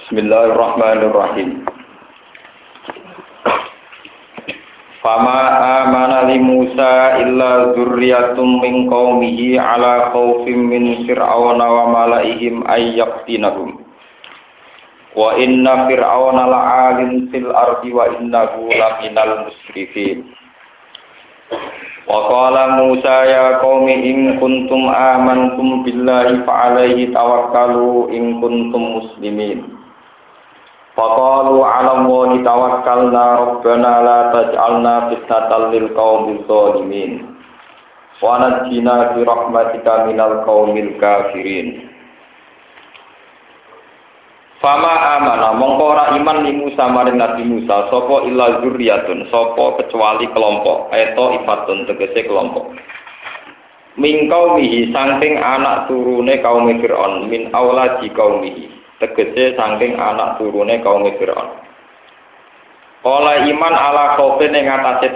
Bismillahirrahmanirrahim. Fama amana li Musa illa dzurriyyatun min qaumihi ala khaufin min fir'auna wa malaihim ay yaqtinahum. Wa inna fir'auna la'alin fil ardi wa innahu laminal musrifin. Wa qala Musa ya qaumi in kuntum amantum billahi fa alaihi tawakkalu in kuntum muslimin. Faqalu 'ala Allahi tawakkalna rabbana la taj'alna fitnatan lil qaumil zalimin wa najjina bi rahmatika minal qaumil kafirin. Fama amana mongko ora iman li Musa maring Nabi Musa sapa illa zurriyatun sapa kecuali kelompok eto ifatun tegese kelompok min qaumihi saking anak turune kaum Fir'aun min auladi qaumihi tegese saking anak turune kaum Fir'aun. Oleh iman ala khaufin ing atase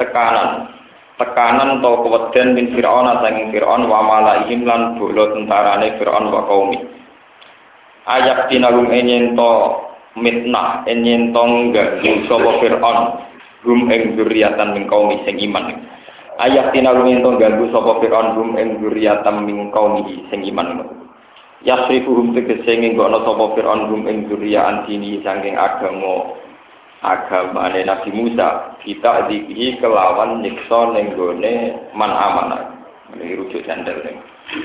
tekanan atau keweden min Fir'aun saking Fir'aun wa malaihim lan bolo tentarane Fir'aun wa qaumi. Ayak tinagum enyento mitnah enyento nggak sapa Fir'aun gum ing dzurriatan min qaumi sing iman. Ayak tinagum ento ganggu sapa Fir'aun gum ing dzurriatan min qaumi sing iman. Yasrifuhum tegese nggono sapa Fir'aun gum ing dzurriatan dini saking agamane Nabi Musa kita dihi kelawan nyiksa ning gone man amanah. Ini rujuk sandal ning.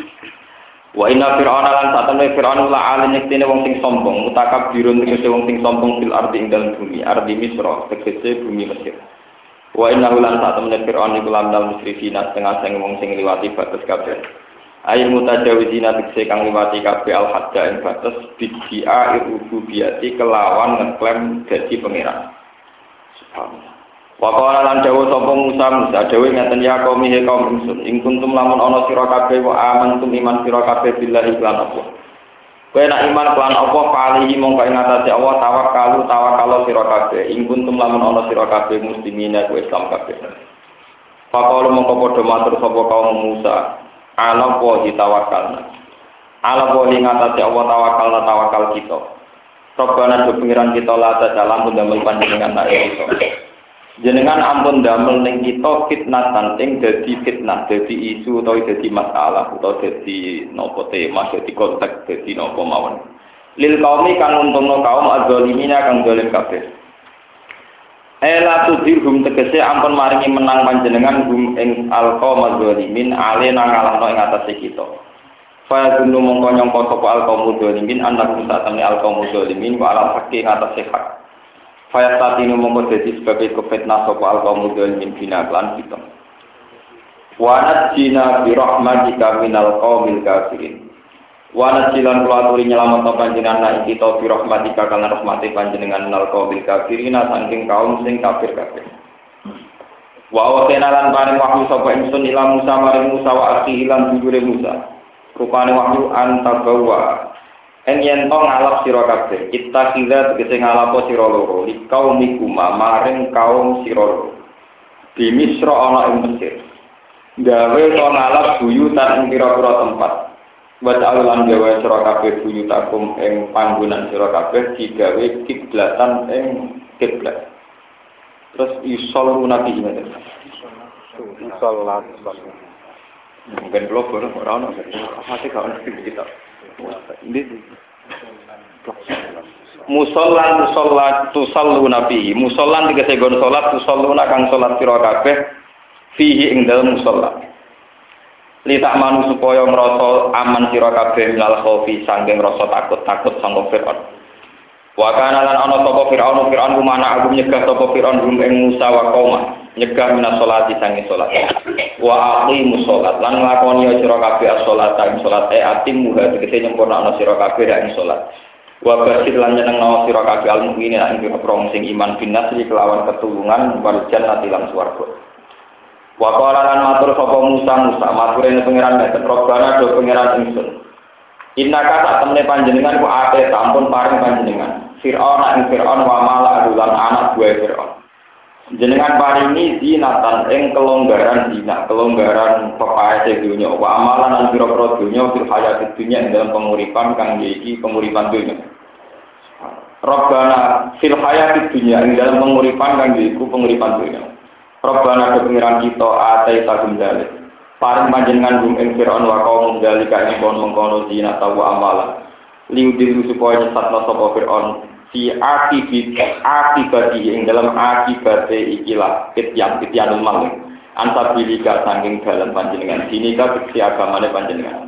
Wa inna fir'auna lan satamne fir'aun la alin yektene wong sing sombong mutakabbirun tegese wong sing sombong fil ardi ing dalem bumi ardi Misra tegese bumi Mesir. Wa inna lan satamne fir'aun iku lamdal musrifina setengah sing wong sing liwati batas kabeh. Air mutajawizina tegese kang liwati kabeh al hadda ing batas bid'a rububiyati kelawan ngeklaim dadi pangeran. Subhanallah. Wa qala lan dawuh sapa Musa dawuh ngaten ya kaum he kaum ingsun ing kuntum lamun ana sira kabeh wa amantum iman sira kabeh billahi lan Allah. Kowe nek iman lan apa palihi mongko ing atase Allah tawakkal sira kabeh ing kuntum lamun ana sira kabeh muslimina ku Islam kabeh. Faqala mongko padha matur sapa kaum Musa ala wa tawakkalna. Ala wa ing atase Allah tawakal kita. Robbana do pengiran kita la dalam ndamel panjenengan nek iso. Jenengan ampun damel ning kita fitnatan ing dadi fitnah, dadi isu utawa dadi masalah utawa dadi napa tema, dadi konteks, dadi napa mawon. Lil qaumi kang untungno kaum azzalimina kang zalim kabeh. Ela tudirhum tegese ampun maringi menang panjenengan hum ing alqaum azzalimin ale nang ngalahno ing atase kita. Fa gunu mongko nyangka sapa alqaum azzalimin anak satane alqaum azzalimin wa ala haqqi atase hak. Faya satinu mongko dadi sebagai kefitnah sapa al-qaum dzalimin binaklan kita. Wa najjina bi rahmatika minal qaumil kafirin. Wa najjilan kula aturi nyelametno panjenengan ing kita bi rahmatika kana rahmate panjenengan minal qaumil kafirin saking kaum sing kafir-kafir. Wa awatena lan paring wahyu sapa ingsun ila Musa maring Musa wa akhi lan dulure Musa. Rupane wahyu antabawa yen to ngalap sira kabeh kita kira tegese ngalapo sira loro likau mikuma maring kaum sira loro di Misra ana ing Mesir gawe to ngalap buyutan ing pira-pira tempat wa ta'alan gawe sira kabeh buyutakum ing panggonan sira kabeh digawe kiblatan ing kiblat terus isollu nabi ngene salat mungkin blogger ora ono masih gak ono kita musollan tusallu nabi musollan tegese gon salat tusalluna kang salat sira kabeh fihi ing dalem musalla li tak manu supaya ngrasa aman sira kabeh minal khaufi saking rasa takut sangka Fir'aun wa kana lan ana sapa Fir'aun kumana aku nyegah sapa Fir'aun ing Musa wa qauma nyegah minas sholati sange salat wa aqimus sholat lan nglakoni sira kabeh as-sholat ing salat atim muga tegese nyempurnakno sira kabeh ing salat wa basyir lan nyenengno sira kabeh al-mukminin ing prong sing iman binas iki kelawan ketulungan wal jannati lan swarga wa qala lan matur sapa Musa maturene pangeran meten robbana do pangeran ingsun innaka sak temene panjenengan ku ate sampun paring panjenengan Fir'aun ing Fir'aun wa mala lan anak buah Fir'aun jenengan paringi zinatan ing kelonggaran zina, kelonggaran pepaese dunya, wa amalan lan pira-pira dunya fil hayatid dunya ing dalam penguripan kang iki penguripan dunya. Rabbana fil hayatid dunya ing dalam penguripan kang iku penguripan dunya. Rabbana pengiran kita atai tagum dalil. Paring panjenengan gum ing Fir'aun wa kaum dalika ing mengkono dina tawa amalan. Liudil supaya nyesatna sapa Fir'aun si akibati ing dalam akibate ikilah kityanul maling. Ansabilika saking dalam panjenengan dinika fiksi agamane panjenengan.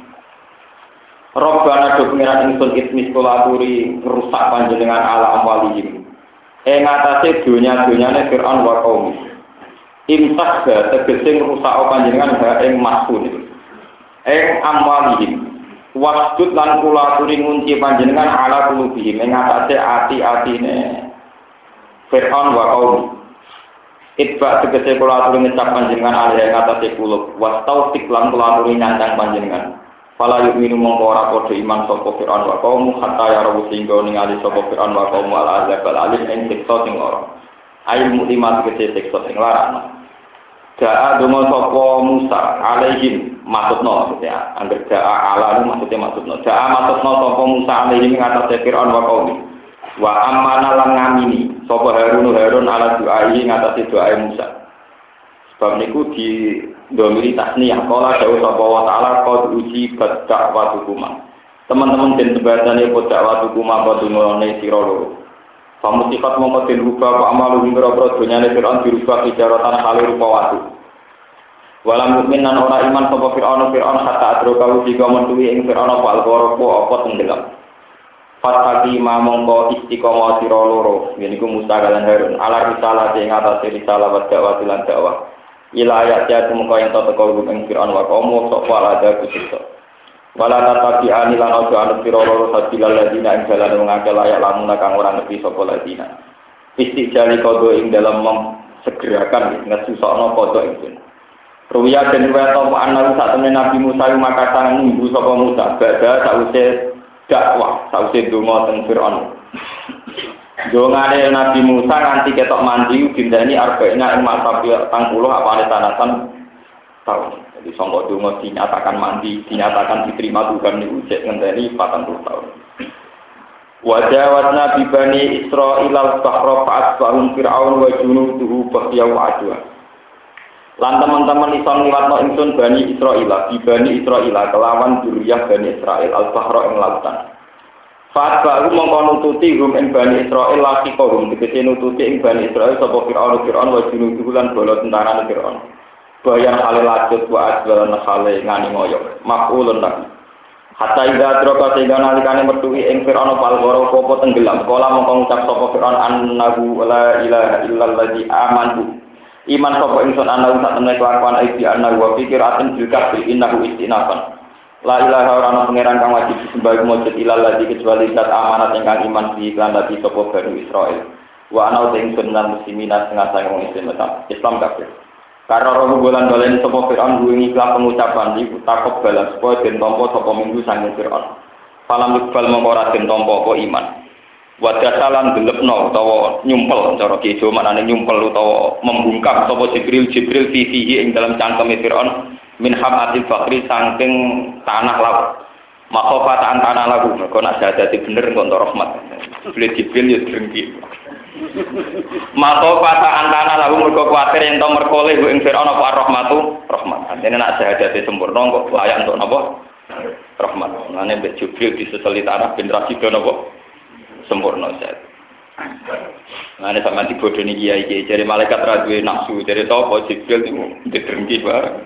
Rabbana do pengiran ingsun ismis kulaturi rusak panjenengan ala amwalihim. Atase dunya-dunyane Fir'aun wa kaum. Imsak tegese rusak panjenengan ha ing maskun itu. Amwalihim. Wasdud lan kulaturi ngunci panjenengan ala kulubihim ing atase ati-atine Fir'aun wa kaum. Itba tegese kulaturi ngecap panjenengan ala ing atase kulub. Wastautik lan kulaturi nyandang panjenengan. Fala yu'minu mongko ora padha iman sapa Fir'aun wa kaum hatta yarawu singgo ningali sapa Fir'aun wa kaum al azab al alim ing siksa sing lara. Ail muklimat kete siksa sing lara. Ja'a donga sapa Musa alaihim maksudna maksudnya angger ja'a ala maksudnya maksudna. Ja'a maksudna sapa Musa alaihim ngatasi Fir'aun wa kaum. Wa amana lan ngamini sapa Harun ala doai ngatasi doa Musa. Sebab niku di domiri tasniyah kala dawuh sapa wa taala qad uji dakwatu kuma. Teman-teman den sebadane kok dakwatu kuma padunone sira loro. Pamusikat mongko den rubah pak amalu ngira-ngira donyane Fir'aun dirubah kijaratan kali rupa watu. Walam mukmin lan ora iman sapa Fir'aun hatta adroka ujiga mentuwi ing Fir'aun apa alqoropo apa tenggelam. Fatati mongko istiqomah sira loro. Yeniku Musa lan Harun ala risalah ing atase risalah wa dakwah lan dakwah. Ila ayat ya tumuka yang teko ing Fir'aun wa kaum sok wala ada kusiksa. Wala tatabi anilan ojo anu sira loro sabilal ladina ing dalan ngake layak lamun kang ora ngerti sapa ladina. Istijali kodo ing dalam segerakan ngesusokno kodo ingsun. Ruwiya den weto ana sak temene Nabi Musa maka sang nunggu sapa Musa badha sause dakwah sause donga teng Fir'aun. Dongane Nabi Musa nganti ketok mandi dindani arba'ina ing masa 40 apane tanatan tahun. Jadi sangka donga dinyatakan mandi, dinyatakan diterima Tuhan niku cek ngenteni 40 tahun. Wajawatna bi bani Israil al-bahra fa'asbahum fir'aun wa junuduhu baghyaw adwa. Lan teman-teman iso ngliwatno ingsun bani Israil, bi bani Israil kelawan duriyah bani Israil al-bahra ing lautan. Fatba'u mongko nututi hum ing Bani Israil laki kaum dikete nututi ing Bani Israil sapa Fir'aun wa junuduhu lan bala tentarane Fir'aun. Bayan hale lajut wa ajwalan hale ngani ngoyo. Maqulun lak. Hatta ida droka sehingga nalikane metuhi ing Fir'aun palgoro apa tenggelam. Kala mongko ngucap sapa Fir'aun annahu la ilaha illalladzi amantu. Iman sapa ingsun ana sak temene kelakuan iki ana wa pikir aten juga innahu istinafan. La ilaha ora ana pangeran kang wajib disembah mujud ilal ladzi kecuali zat amanat ingkang iman di iklan dadi sapa Bani Israil. Wa ana ing sunnah muslimin setengah sang wong Islam kafir. Karena roh bulan balen sapa Fir'aun duwe ikhlas pengucapan iku takok balas supaya den tampa sapa minggu sang Fir'aun. Falam iqbal mongko ora den tampa apa iman. Wa dasalan gelepno utawa nyumpel cara kijo maknane nyumpel utawa membungkam sapa Jibril fihi ing dalam cangkeme Fir'aun. Min hamatil fakri saking tanah laut. Makhofatan tanah lagu mergo nak dadi bener kok entuk rahmat. Jibril ya drengki. Makhofatan tanah lagu mergo kuwatir ento merkole ing Fir'aun apa rahmatu rahmat. Artine nak dadi sempurna kok layak untuk napa? Rahmat. Mane mbek Jibril diseseli tanah ben ra sida napa? Sempurna set. Mane sama dibodoni kiai-kiai jare malaikat ra duwe nafsu, jare sapa Jibril niku didrengki bareng.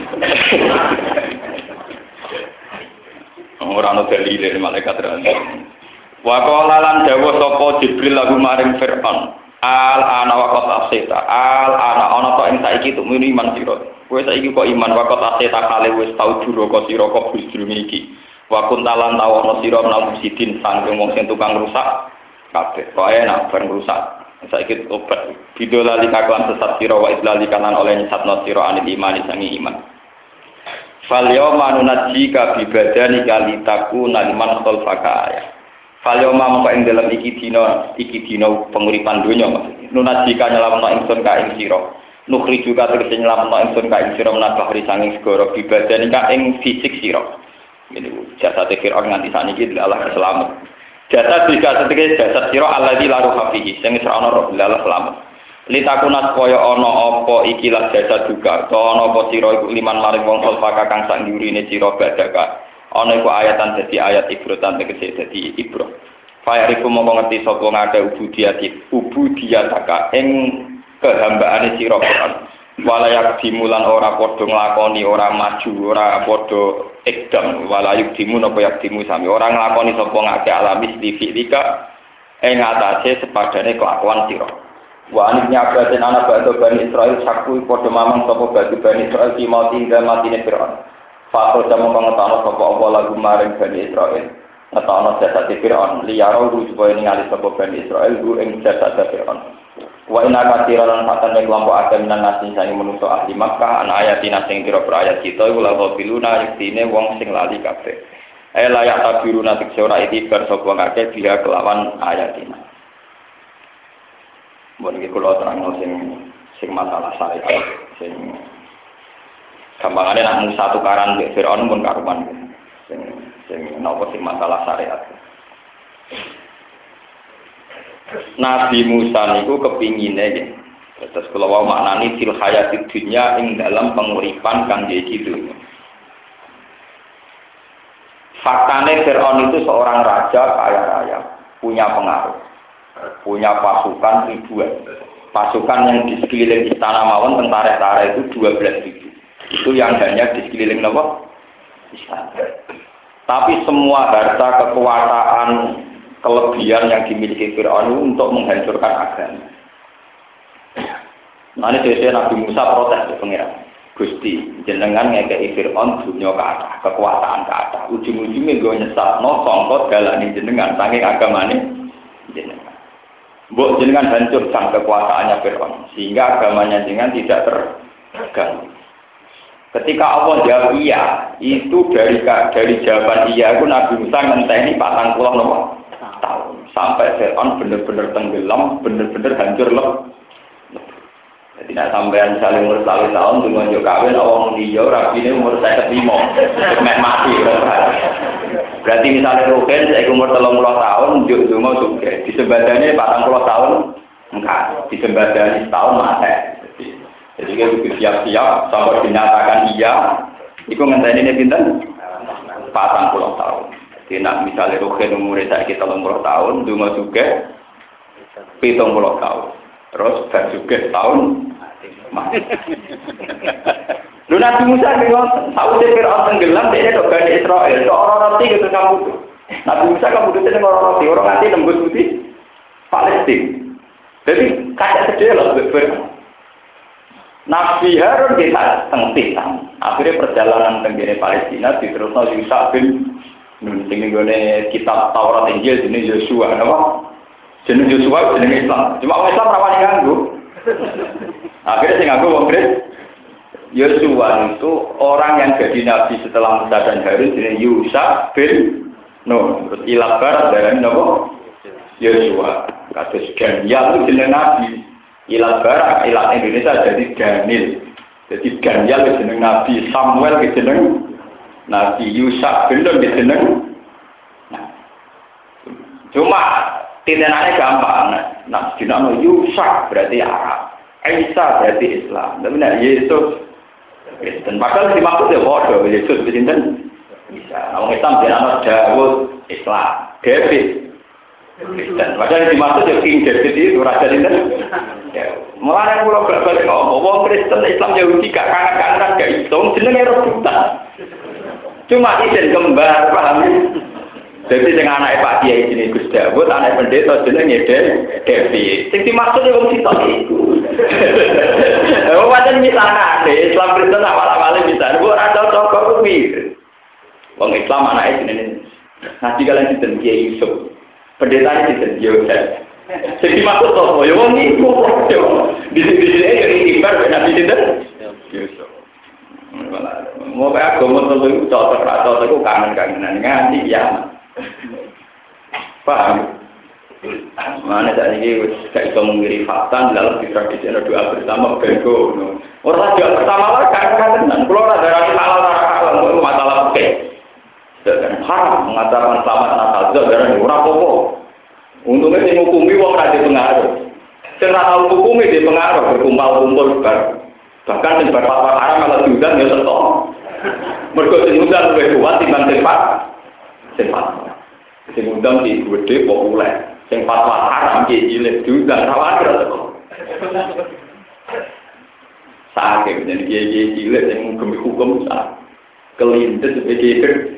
Ora ana dalile malaikat ra. Wa qala lan dawuh sapa Jibril lagu maring Fir'aun. Al ana waqat asita. Al ana to ing saiki tuk muni iman sira. Kowe saiki kok iman waqat asita kale wis tau duraka sira kok bisrune iki. Wa kuntalan tawono sira nang sidin sangking wong sing tukang rusak. Kabeh kok enak bareng rusak saiki obat bidola likakuan sesat sira wa idlali kanan oleh nyesatno sira anil iman sangi iman fal yawma nunajjika bi badani kalitaku naliman khalfaka ya fal yawma mongko ing dalem iki dina penguripan donya maksudnya nunajjika nyelametno ingsun ka ing sira nukri juga tegese nyelametno ingsun ka ing sira menabahri sanging segara bi badani ka ing fisik sira ngene jasate Fir'aun nganti saniki Allah selamat. Jasa jika setegese jasad sira alladzi la ruha fihi sing wis ana roh lalah selamat. Litakuna supaya ana apa iki lah jasa juga to ana apa sira iku liman maring wong sulfaka kang sak ngurine sira badaka. Ana iku ayatan dadi ayat ibrotan tegese dadi ibro. Fayariku mongko ngerti sapa ngake ubudiyataka ing kehambaane sira Quran. Walayak dimulan ora padha nglakoni ora maju ora padha ekdam walayuk dimun apa yak dimu sami ora nglakoni sapa ngake alamis di fi'lika ing atase sepadane kelakuan sira. Wa aniknya abaten ana batu Bani Israil sakku padha mamang sapa batu Bani Israil di mati ing matine Firaun. Fakir jamu pengetahuan sapa apa lagu maring Bani Israil. Ngetono jasad Firaun liyaro supaya ningali sapa Bani Israil ing jasad Firaun. Wa inna katsiran fatane kelompok akeh minan nasi sing menungso ahli Makkah an ayatina sing pira-pira ayat kita iku la biluna yektine wong sing lali kabeh. Layak tabiruna tikse ora itibar sapa kabeh dia kelawan ayatina. Mun iki kula terangno sing masalah syariat sing gampangane nak Musa tukaran mbek Firaun pun karuman sing napa sing masalah syariat. Nabi Musa niku kepingine nggih. Terus kula wau maknani fil hayati dunya ing dalam penguripan kang iki dunya. Faktane Firaun itu seorang raja kaya raya, punya pengaruh, punya pasukan ribuan. Pasukan yang di sekeliling istana mawon tentara-tentara itu 12.000. Itu yang hanya di sekeliling napa? Istana. Tapi semua harta kekuasaan kelebihan yang dimiliki Fir'aun untuk menghancurkan agama. Nah ini biasanya Nabi Musa protes ke pengiran. Gusti, jenengan ngekei Fir'aun dunia ke atas, kekuasaan ke atas. Ujung-ujungnya gue nyesat, no songkot galani jenengan, saking agamanya jenengan. Mbok jenengan hancurkan kekuasaannya Fir'aun, sehingga agamanya jenengan tidak terganggu. Ketika Allah jawab iya, itu dari jawaban iya itu Nabi Musa ngenteni 40 tahun sampai Fir'aun benar-benar tenggelam, benar-benar hancur Jadi nak sampean saling umur 1 tahun dengan yo kawin awang dia rapine umur 55 mek mati. Berarti misalnya Ruben saya umur 30 tahun njuk donga sugih, disembadane 40 tahun enggak, disembadane setahun mati. Jadi kita harus siap-siap sampai dinyatakan iya, itu ngenteni ini pinten 40 tahun. Jadi nak misalnya Ruben umur saya 30 tahun, donga sugih 70 tahun. Terus bar sugih tahun mati. Lu Nabi Musa bilang, tahu dia Fir'aun tenggelam, dia ada Bani Israel, itu orang roti gitu kamu tuh. Nabi Musa kamu tuh dengan orang roti, orang nanti nembus putih Palestina. Jadi kaca sedih loh, Nabi Harun kita tengtitan. Akhirnya perjalanan tenggine Palestina diterusno Yusuf bin Nun. Sing nggone kitab Taurat Injil jenenge Yosua, napa? Jeneng Yosua jeneng Islam. Cuma orang Islam rawani nganggo. Akhirnya sing nganggo wong Kristen. Yosua itu orang yang jadi nabi setelah Musa dan Harun jeneng Yusuf bin Nun. Terus ilabar darane napa? Yosua. Kados Daniel itu jeneng nabi. Ilabar ilat Indonesia jadi Daniel. Jadi Daniel itu jeneng nabi, Samuel itu jeneng nabi, Yusuf bin Nun itu jeneng. Nah. Cuma tindakannya gampang. Nah, dinamo Yusuf berarti Arab, Isa berarti Islam. Tapi nah Yesus Kristen. Padahal dimaksud ya bodoh. Yesus Kristen bisa. Orang Islam dinamo Daud Islam, David Kristen. Padahal dimaksud ya King David itu raja Kristen. Ya, mulai pulau berbalik ngomong Kristen Islam Yahudi gak kanan-kanan gak hitung jenenge rebutan. Cuma izin kembar paham. Jadi dengan anak Pak Kiai sini Gus Dawud, anak pendeta jenenge Devi. Sing dimaksud ya wong sitok iku. Wajan misalnya Islam Kristen awal-awalnya bisa. Bu ora cocok kok kuwi. Wong Islam anake jenenge ngaji kalian sinten Kiai Yusuf. Pendeta sinten Yosef. Sing dimaksud to ya wong iku. Di sini ya ibar Nabi sinten Yusuf. Mau kayak agama itu cocok rata itu kangen-kangenan ngaji ya. Paham? Mana saat ini gak bisa mengirim fakta dalam tradisi doa bersama bego. Orang doa bersama lah kangen-kangenan. Kalau ada rasa halal itu masalah oke. haram mengatakan selamat Natal dan ora apa-apa. Untungnya sing ngukumi wong ra pengaruh. Sing ra tau hukumi di pengaruh berkumpul-kumpul bar. Bahkan sing bar fatwa haram malah diundang ya tetep. Mergo sing undang luwih kuat timbang sing fatwa. Sing undang iki gede populer. Sing fatwa haram iki cilik diundang rawan tetep. Sakit jadi kiai cilik yang hukum sah kelindes sebagai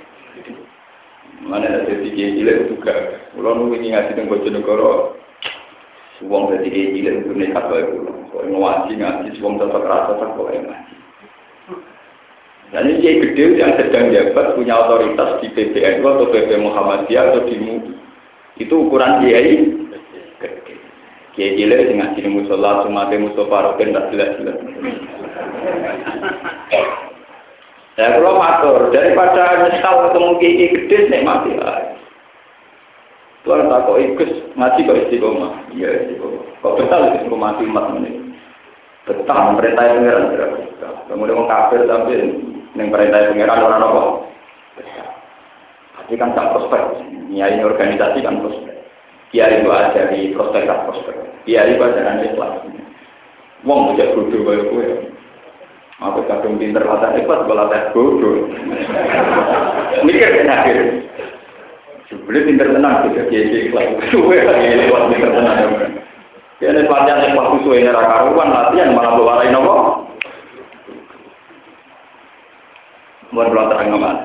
mana ada kiai cilik juga. Kalau nunggu ngaji dengan Bojonegoro, suwong dari kiai cilik itu nekat bae kulo. Kalau ngaji suwong tetap rasa tak boleh ngaji. Dan ini kiai gede yang sedang jabat punya otoritas di PBNU atau PP Muhammadiyah atau di MUI. Itu ukuran kiai gede. Kiai cilik sing ngaji ning musala sumate Mustofa Roken tak jelas-jelas. Ya kalau matur daripada nyesal ketemu kiai gede nek mati ae. Tuan tak kok ikut ngaji kok istiqomah. Iya istiqomah. Kok betul istiqomah mati umat ini. Betul perintah pangeran berapa? Kemudian orang kafir tapi ning perintah pangeran ora apa. Tapi kan tak prospek. Nyai organisasi kan prospek. Kiai itu ada di prospek. Kiai itu ada di kelas. Wong bocah bodoh kaya kowe. Aku kadung pinter latih ikhlas latih bodoh. Mikir kan akhir. Sebelum pinter tenang juga kiai kelas. Kowe lagi lewat pinter tenang. Kene latihan ikhlas suwe ora karuan latihan malah bawarai nopo. Mun terang ngomong.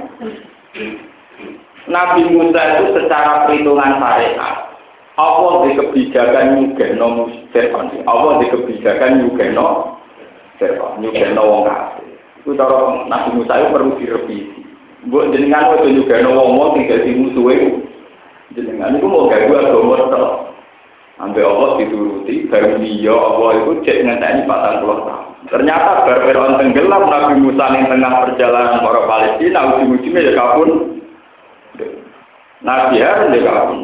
Nabi Musa itu secara perhitungan syariat Allah di kebijakan nyugeno Fir'aun. Allah di kebijakan nyugeno Fir'aun, nyugeno wong kafir. Itu cara Nabi Musa itu perlu direvisi. Mbok jenengan wae nyugeno wong sing dadi musuhe. Jenengan iku mau gawe agama tok. Ambe Allah dituruti, baru dia Allah itu cek ngenteni 40 tahun. Ternyata bar Fir'aun tenggelam Nabi Musa ning tengah perjalanan para Palestina ujung-ujungnya ya kabun. Nabi Harun ya kabun.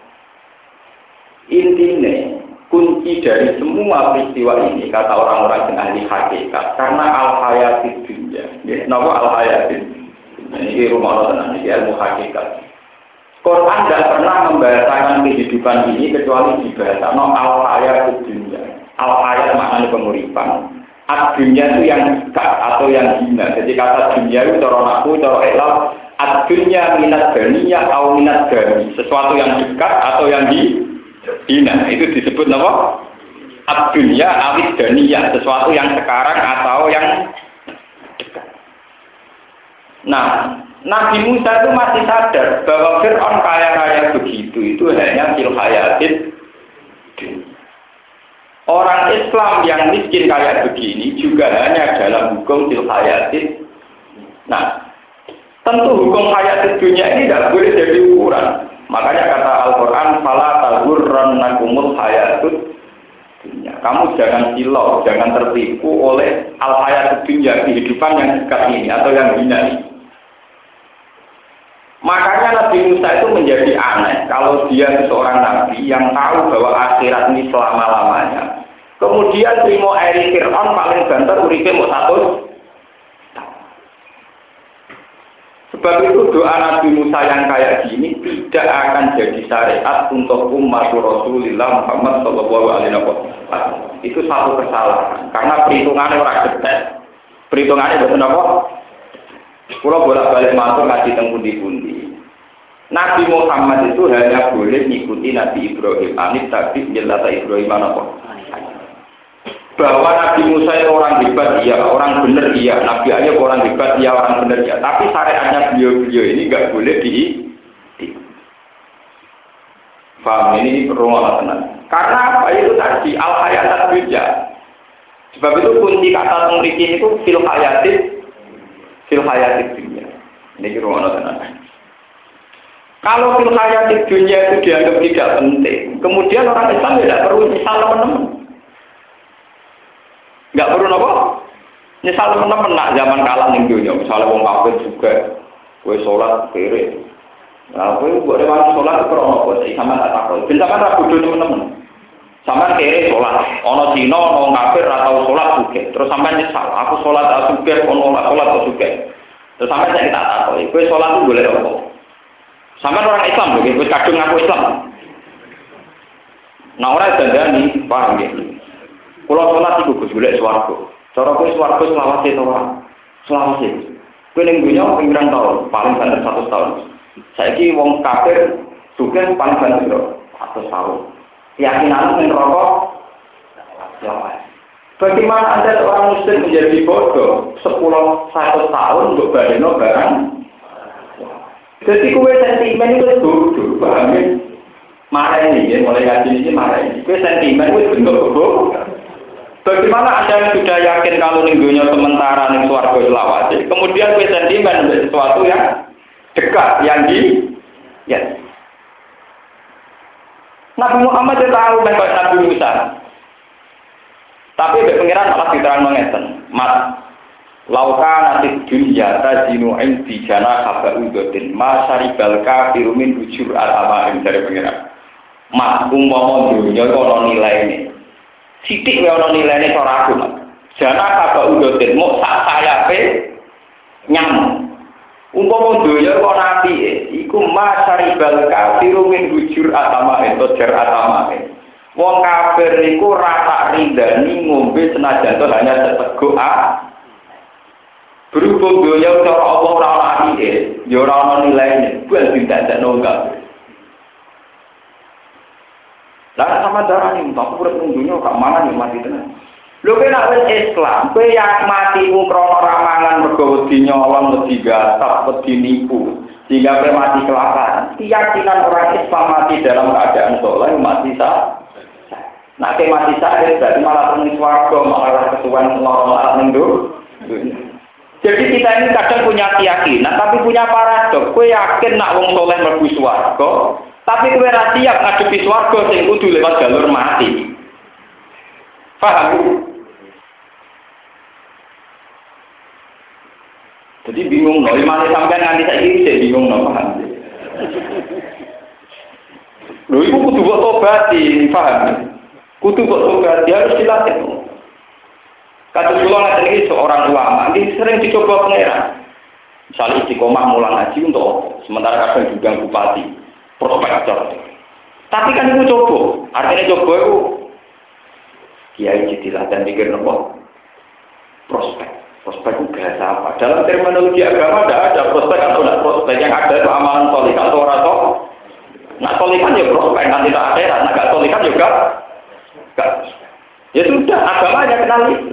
Intinya kunci dari semua peristiwa ini kata orang-orang yang ahli hakikat karena al-hayatid dunya. Kenapa al-hayatid? Ini rumah Allah ini ilmu hakikat. Quran tidak pernah membahasakan kehidupan ini kecuali dibahasakan al-hayatid dunya. Al-hayat maknanya penguripan. Ad-dunya itu yang dekat atau yang hina. Jadi kata dunya itu cara naku, cara elal. Ad-dunya minat ganiyah atau minat gani. Sesuatu yang dekat atau yang hina, itu disebut apa? Ad-dunya awid daniyah, sesuatu yang sekarang atau yang dekat. Nah, Nabi Musa itu masih sadar bahwa Fir'aun kaya-kaya begitu itu hanya fil hayatid dunya. Orang Islam yang miskin kayak begini juga hanya dalam hukum fil hayatid. Nah, tentu hukum hayatid dunya ini tidak boleh jadi ukuran. Makanya kata Al-Quran, "Fala taghurrannakumul hayatud dunya." Kamu jangan silau, jangan tertipu oleh al-hayatud dunya, kehidupan yang dekat ini atau yang hina ini. Makanya Nabi Musa itu menjadi aneh kalau dia seorang nabi yang tahu bahwa akhirat ini selama-lamanya. Kemudian terima eri Fir'aun paling banter uripe mau 100. Sebab itu doa Nabi Musa yang kayak gini tidak akan jadi syariat untuk umat Rasulullah Muhammad Shallallahu Alaihi Wasallam. Itu satu kesalahan karena perhitungannya orang detail. Perhitungannya betul apa? Kalau bolak-balik masuk ngaji teng pundi-pundi. Nabi Muhammad itu hanya boleh mengikuti Nabi Ibrahim. Anis tadi jelata Ibrahim apa? Bahwa Nabi Musa itu orang hebat, iya, orang benar, iya. Nabi Ayub orang hebat, iya, orang benar, iya. Tapi syariatnya beliau-beliau ini nggak boleh paham ini rumah tenang. Karena apa itu tadi al-hayatat dunya. Sebab itu kunci kata memiliki itu fil hayatid dunya. Ini rumah tenang. Kalau fil hayatid dunya itu dianggap tidak penting, kemudian orang Islam tidak perlu misal teman-teman. Enggak perlu apa? Misal teman-teman nak zaman kalah ning dunya, misalnya wong kafir juga kowe salat kere. Nah, kowe mbok lewat salat krono apa sih sama tak takon. Ben sampean ra bodho teman-teman. Sampean kere salat, ana Cina, ana wong kafir ra tau salat juga. Terus sampean nyesal, aku salat asubeh ono salat asubeh. Terus sampean tak takon, kowe salat ku golek apa? Sampai orang Islam begitu kadung ngaku Islam. Nah orang dandani paham ya. Kalau sholat itu Gus golek swarga. Cara kowe swarga selawase to ora? Selawase. Kowe ning dunya pirang tahun, paling banter 100 tahun. Saiki wong kafir juga paling banter 100 tahun. Keyakinan ning neraka selawase. Bagaimana Anda seorang muslim menjadi bodoh 10-100 tahun untuk badeno barang? Jadi kowe sentimen itu bodoh, paham ya? Marah ini, ya, mulai ngaji ini marah ini. Kowe sentimen itu bentuk bodoh. Bagaimana Anda yang sudah yakin kalau minggunya sementara ning swarga selawase, kemudian kowe sentimen untuk sesuatu yang dekat, yang ya. Nabi Muhammad dia tahu bahwa Nabi Musa. Tapi pengiran malah diterang mengeten. Mat lauka nanti dunia tajinu indi jana kabaudotin masaribal kafiru min ujur al-amaim dari pengiran. Mat umpama dunia kono nilai ini. Sidik wae ana nilainya cara aku. Jana kabaudotin mok sak sayape nyamuk. Umpama donya kok nabi iku masaribal kafiru min ujur al-amaim tojar al-amaim. Wong kafir niku rasa rindani ngombe senajan to hanya seteguk berhubung donya cara Allah ora ana atine, ya ora ana nilaine, bukan didadakno kafir. Lah sama darane mbak urip ning donya kok mana nih mati tenan. Lho kowe nek wis Islam, kowe yak matimu krana ramangan mergo wedi nyolong, wedi gatap, wedi nipu, sehingga kowe mati kelaparan. Keyakinan orang Islam mati dalam keadaan saleh mati sah. Nah, mati syahid berarti malah penuh swarga, malah kesuwen loro-loro ning Jadi kita ini kadang punya keyakinan, tapi punya paradok. Kowe yakin nak wong soleh mlebu swarga, tapi kowe ra siap ngadepi swarga sing kudu lewat jalur mati. Paham? Jadi bingung loh, imane sampean nganti saiki sik bingung loh, paham? Lho iku kudu kok tobati, paham? Kudu kok tobat, dia harus dilatih. Kata kula ngaten iki seorang ulama, ini sering dicoba pangeran. Misalnya istiqomah mulang haji untuk apa? Sementara kadang juga bupati, prospektor. Tapi kan itu coba, artinya coba itu kiai jadilah dan pikir nopo prospek. Prospek itu bahasa apa? Dalam terminologi agama tidak ada prospek atau tidak prospek, yang ada itu amalan solikan atau orang tua. Nah solikan ya prospek, nanti tak akhirat, nah gak solikan juga. Ya sudah, agamanya kenal itu.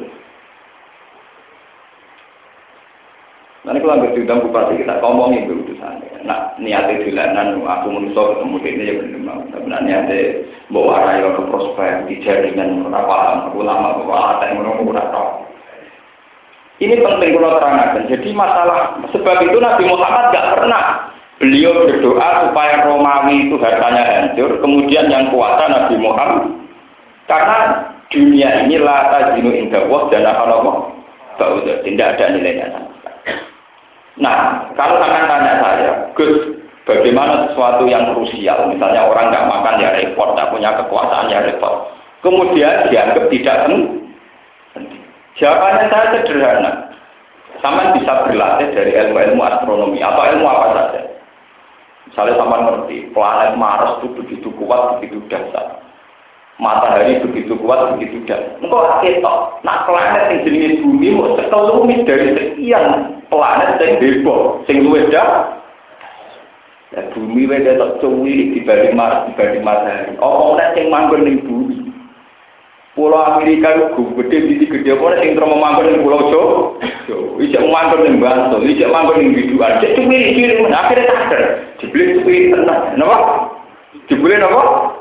Nanti kalau ambil diundang bupati kita ngomongin itu urusannya. Nah niatnya dilanan, aku menuso ketemu ini ya benar. Sebenarnya niatnya bawa raya ke prospek, di jaringan berapa ulama bawa ada yang menunggu tahu. Ini penting kalau terangkan. Jadi masalah sebab itu Nabi Muhammad nggak pernah beliau berdoa supaya Romawi itu hartanya hancur. Kemudian yang kuasa Nabi Muhammad. Karena dunia ini la tajinu inda Allah dan Allah tidak ada nilainya sama sekali. Nah, kalau akan tanya saya, Gus, bagaimana sesuatu yang krusial, misalnya orang nggak makan ya repot, nggak punya kekuasaan ya repot, kemudian dianggap tidak penting. Jawabannya saya sederhana, sama bisa berlatih dari ilmu-ilmu astronomi atau ilmu apa saja. Misalnya sama ngerti, planet Mars itu begitu kuat, begitu dahsyat. Matahari begitu kuat, begitu dahsyat. Engkau ketok, nah planet yang jenis bumi mau sekelumit dari sekian planet yang heboh, yang luwes dah. Ya bumi weda tak cuwi dibanding Mars, dibanding matahari. Oh, nek sing manggon ning bumi. Pulau Amerika itu gede, gede apa sing terus manggon ning Pulau Jawa. Ijek manggon ning Bantul, ijek manggon ning Biduan. Cek cuwi-cuwi men akhire sadar. Jebule cuwi tenan. Napa? Jebule napa?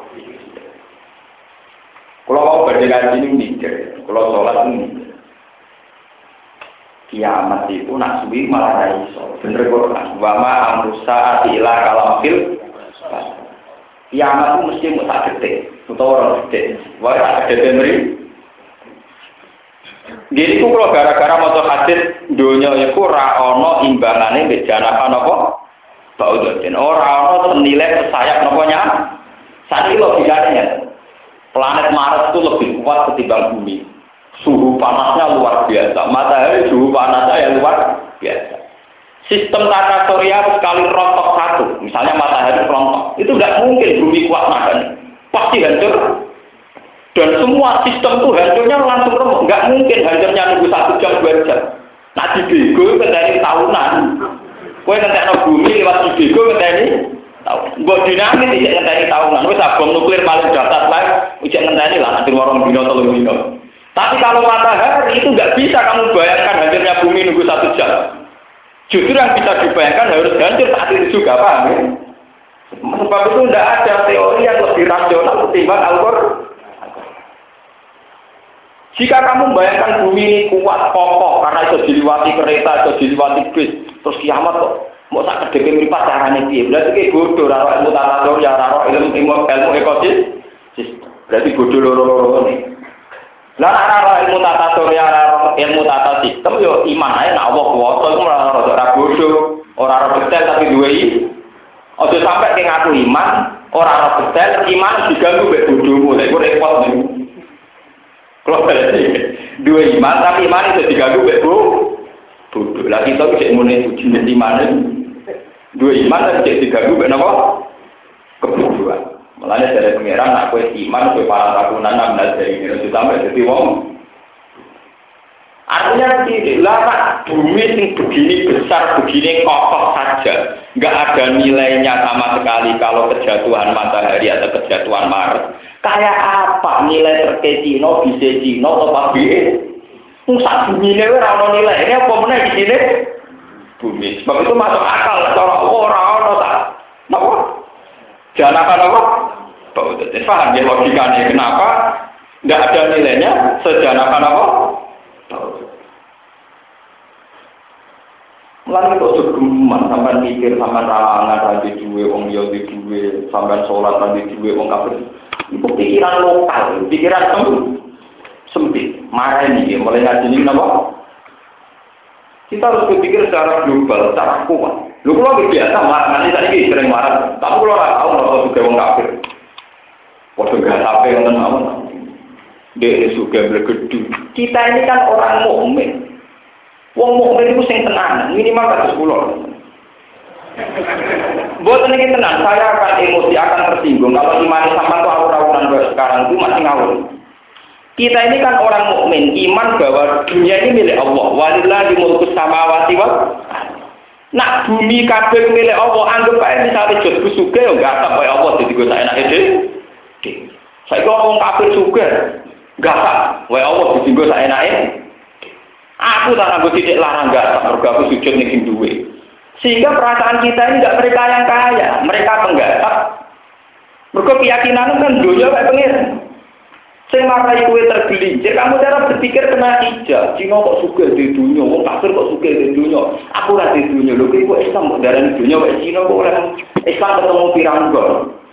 Kalau mau berdiri ini mikir, kalau sholat ini kiamat itu nak suwi malah raiso. Bener Quran. Wama amrusa atilah kalamfil. Kiamat itu mesti mau tak detik, atau orang detik. Wah tak detik meri. Jadi itu kalau gara-gara motor hadis dunia itu raono imbangannya bejana apa? Bau dosen. Orang senilai sayap noponya. Saat ini logikanya. Planet Mars itu lebih kuat ketimbang bumi. Suhu panasnya luar biasa. Matahari suhu panasnya yang luar biasa. Sistem tata surya sekali rontok satu, misalnya matahari rontok, itu nggak mungkin bumi kuat nahan, pasti hancur. Dan semua sistem itu hancurnya langsung remuk, nggak mungkin hancurnya nunggu 1 jam 2 jam. Nah di bego dari tahunan, kue ngentekno bumi lewat di bego ngenteni tahun. Gue dinamis ijek ngenteni tahunan, wes bom nuklir paling dasar lah, ijek ngenteni lah nanti warung dino 3 dino. Tapi kalau matahari itu nggak bisa kamu bayangkan hancurnya bumi nunggu 1 jam. Justru yang bisa dibayangkan harus hancur saat itu juga, paham ya? Sebab itu tidak ada teori yang lebih rasional ketimbang Al-Qur'an. Jika kamu bayangkan bumi ini kuat, kokoh, karena itu diliwati kereta, itu diliwati bis, terus kiamat kok, mau tak kedekir meripat caranya dia. Berarti kayak bodoh, raro ilmu tata surya, raro ilmu ekosistem. Berarti bodoh loro-loro ini. Lah ora ilmu tata surya, ilmu tata sistem yo iman ae nek Allah kuwasa iku ora bodoh, ora detail tapi duwe iki. Aja sampe ki ngaku iman, ora detail iman diganggu mek bodohmu, lha iku repot niku. Kalau duwe iman tapi iman itu diganggu mek bodoh. Lah kita iki muni ujian iman. Duwe iman tapi diganggu mek napa? Kebodohan. Mulanya dari pengiran, aku iman, aku para takunan, namanya dari ini, sampai jadi wong. Artinya lama bumi yang begini besar, begini kokoh saja, nggak ada nilainya sama sekali kalau kejatuhan matahari atau kejatuhan Mars. Kayak apa nilai terkait Cino, bisa Cino, atau pabrik? Musak bumi ini orang nilai ini apa mana di sini? Bumi. Sebab itu masuk akal, kalau orang tak, apa? Jangan apa? Paham ya logikanya kenapa tidak ada nilainya sejanakan apa? Mulai kok segeman sampai mikir sampai ralangan tadi duwe wong yo di duwe sampai sholat tadi duwe wong kafir. Itu pikiran lokal, pikiran sempit. Marah ini mulai ngaji ini apa? Kita harus berpikir secara global, secara kuat. Lu kalau biasa marah nanti tadi sering marah, tapi kalau orang tahu kalau juga wong kafir. Waktu gak sampai yang tenawan, dia juga bergedu. Kita ini kan orang mukmin. Wong mukmin itu sing tenang, minimal kata 10. Buat ini tenang, saya akan emosi, akan tersinggung. Kalau iman sama tuh awur-awuran sekarang itu masih ngawur. Kita ini kan orang mukmin, iman bahwa dunia ini milik Allah. Walillahi mulkus samawati wal. Nak bumi kabeh milik Allah, anggap aja misalnya jod busuke yo enggak sampai Allah jadi gue enak ide. Saya orang kafir juga, enggak tak. Wae Allah jadi gue enake. Aku tak nanggo titik larang enggak tak mergo aku sujud ning duwe. Sehingga perasaan kita ini enggak mereka yang kaya, mereka penggasak. Mergo keyakinan kan dunia kayak pengen. Sing marai kowe tergelincir, kamu cara berpikir kena hijab. Cina kok sugih di dunia, wong kafir kok sugih di dunia. Aku ra di dunia, lho kok Islam kok darani dunia wae Cina kok ora Islam ketemu pirang-pirang.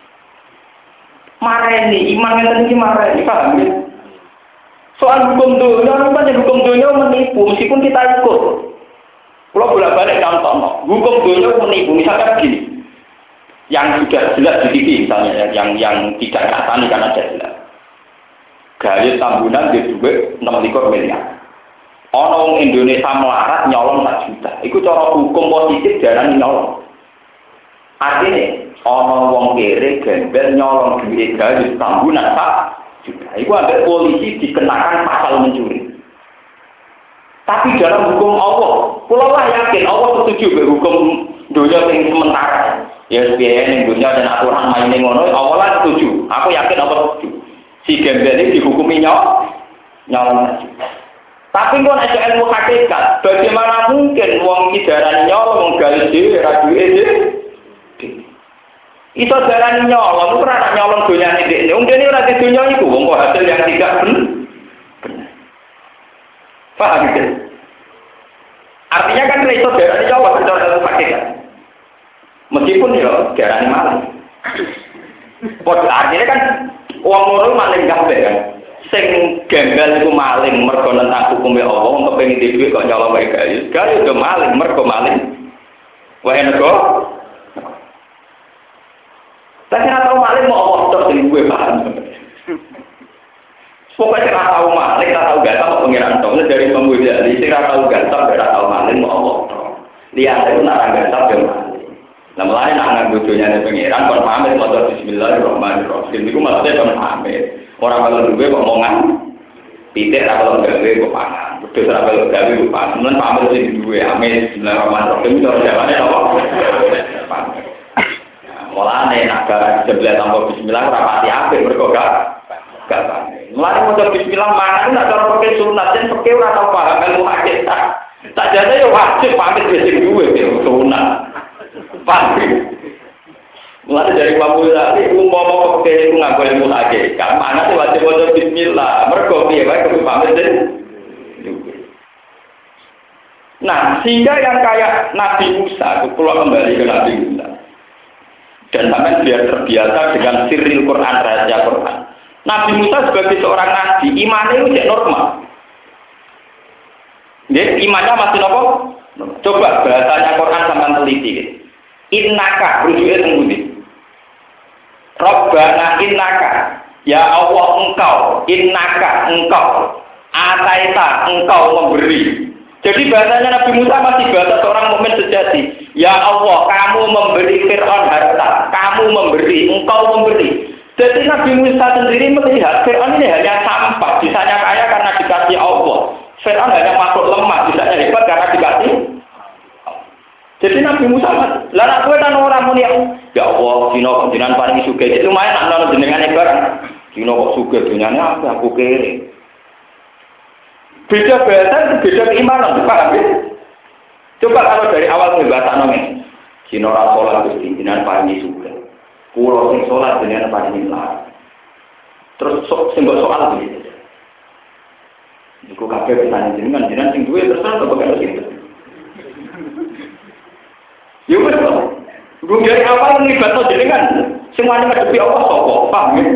Mareni, iman ngeten iki mareni, paham ya? Soal hukum dunia, hukum dunia menipu, meskipun kita ikut. Kalau bolak-balik contoh, hukum dunia menipu, misalkan begini, yang sudah jelas di TV misalnya, yang tidak katani karena jelas. Gaya tambunan di duit 6 miliar. Orang Indonesia melarat nyolong 1 juta. Itu cara hukum positif jarang nyolong. Artinya, orang wong kere gembel nyolong duit gaya tambunan 1 juta. Itu ada polisi dikenakan pasal mencuri. Tapi dalam hukum Allah, pulau lah yakin Allah setuju dengan hukum dunia yang sementara. Ya SBN yang dunia dan aturan main yang ngono, Allah lah setuju. Aku yakin Allah setuju. Si gembel ini dihukumi nyolong. Tapi kalau ada ilmu hakikat, bagaimana mungkin wong idaran nyolong galis dhewe ra duwe dhewe? Iso darani nyolong, ora nak nyolong donyane dhekne. Wong dene ora di donya iku, wong kok hasil yang tidak benar. Paham ya? Artinya kan iso darani nyolong secara ilmu hakikat. Meskipun ya darani malah. Artinya kan wong loro maling kabeh kan. Sing gembel iku maling mergo nentang hukume Allah, wong kepengin dhuwit kok nyolong wae gayus. Gayus yo maling mergo maling. Wae nego. Tapi ora tau maling mau Allah tok sing duwe paham. Pokoknya ora tau maling, ora tau ganteng pengiran tok. Dari pembuja, sing ora tau ganteng, ora tau maling mau Allah tok. Lihat pangeran itu nak nggak tahu. Nah mulai nak nganggujonya pangeran kon pamit maca bismillahirrahmanirrahim. Iku maksudnya kon pamit. Orang kalau duwe kok omongan pitik ra kalau gawe kok pangan. Betul ra kalau gawe kok pangan. Mun pamit sing duwe amin bismillahirrahmanirrahim cara jawane apa? Pamit. Mulane nak gara sebelah tanpa bismillah ora pati apik mergo gak pamit. Mulane maca bismillah mangan nak cara pakai sunat yen pakai ora tau paham ilmu hadis. Tak jane yo wajib pamit sing duwe sunat. Pasti. Mulai dari Bapak tadi, umpama pakai itu nggak boleh mulai. Kan mana sih wajib bismillah. Mereka piye bae kudu pamit deh. Nah, sehingga yang kayak Nabi Musa, kalau kembali ke Nabi Musa, dan sampai biar terbiasa dengan sirril Quran, rahasia Quran. Nabi Musa sebagai seorang nabi, imannya itu normal. Jadi imannya masih nopo. Coba bahasanya Quran sampai teliti. Innaka rujuknya tembudi. Rabbana innaka, ya Allah innaka engkau, ataita engkau memberi. Jadi bahasanya Nabi Musa masih bahasa seorang mukmin sejati. Ya Allah, kamu memberi Fir'aun harta, kamu memberi, engkau memberi. Jadi Nabi Musa sendiri melihat Fir'aun ini hanya sampah, bisanya kaya karena dikasih Allah. Fir'aun hanya makhluk lemah, bisanya hebat karena dikasih. Jadi Nabi Musa, lah nak kowe kan ora muni ya Allah, dina jenengan paring sugih. Itu lumayan nak nono jenengane barang. Dina kok sugih dunyane aku kere. Beda bahasa, beda keimanan, paham ya? Coba kalau dari awal bahasa ngene. Dina ora salat Gusti, jenengan paring sugih. Kulo sing salat jenengan paring lar. Terus sing soal iki. Iku kabeh jenengan sing duwe terus kok karo sinten. Ya wis to. Gue dari awal nglibatno jenengan, semuanya ngadepi Allah sapa, paham ya?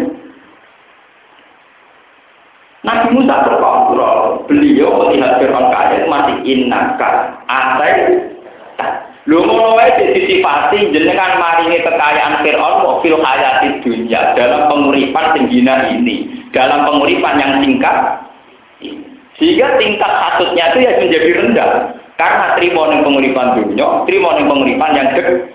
Nabi Musa terkontrol, beliau melihat Fir'aun kaya masih innaka, atai. Lho ngono wae disifati jenengan maringi kekayaan Fir'aun kok fil hayati dunya dalam penguripan sing dina ini, dalam penguripan yang singkat. Sehingga tingkat hasudnya itu ya menjadi rendah. Karena terima ning penguripan dunia, terima ning penguripan yang dek.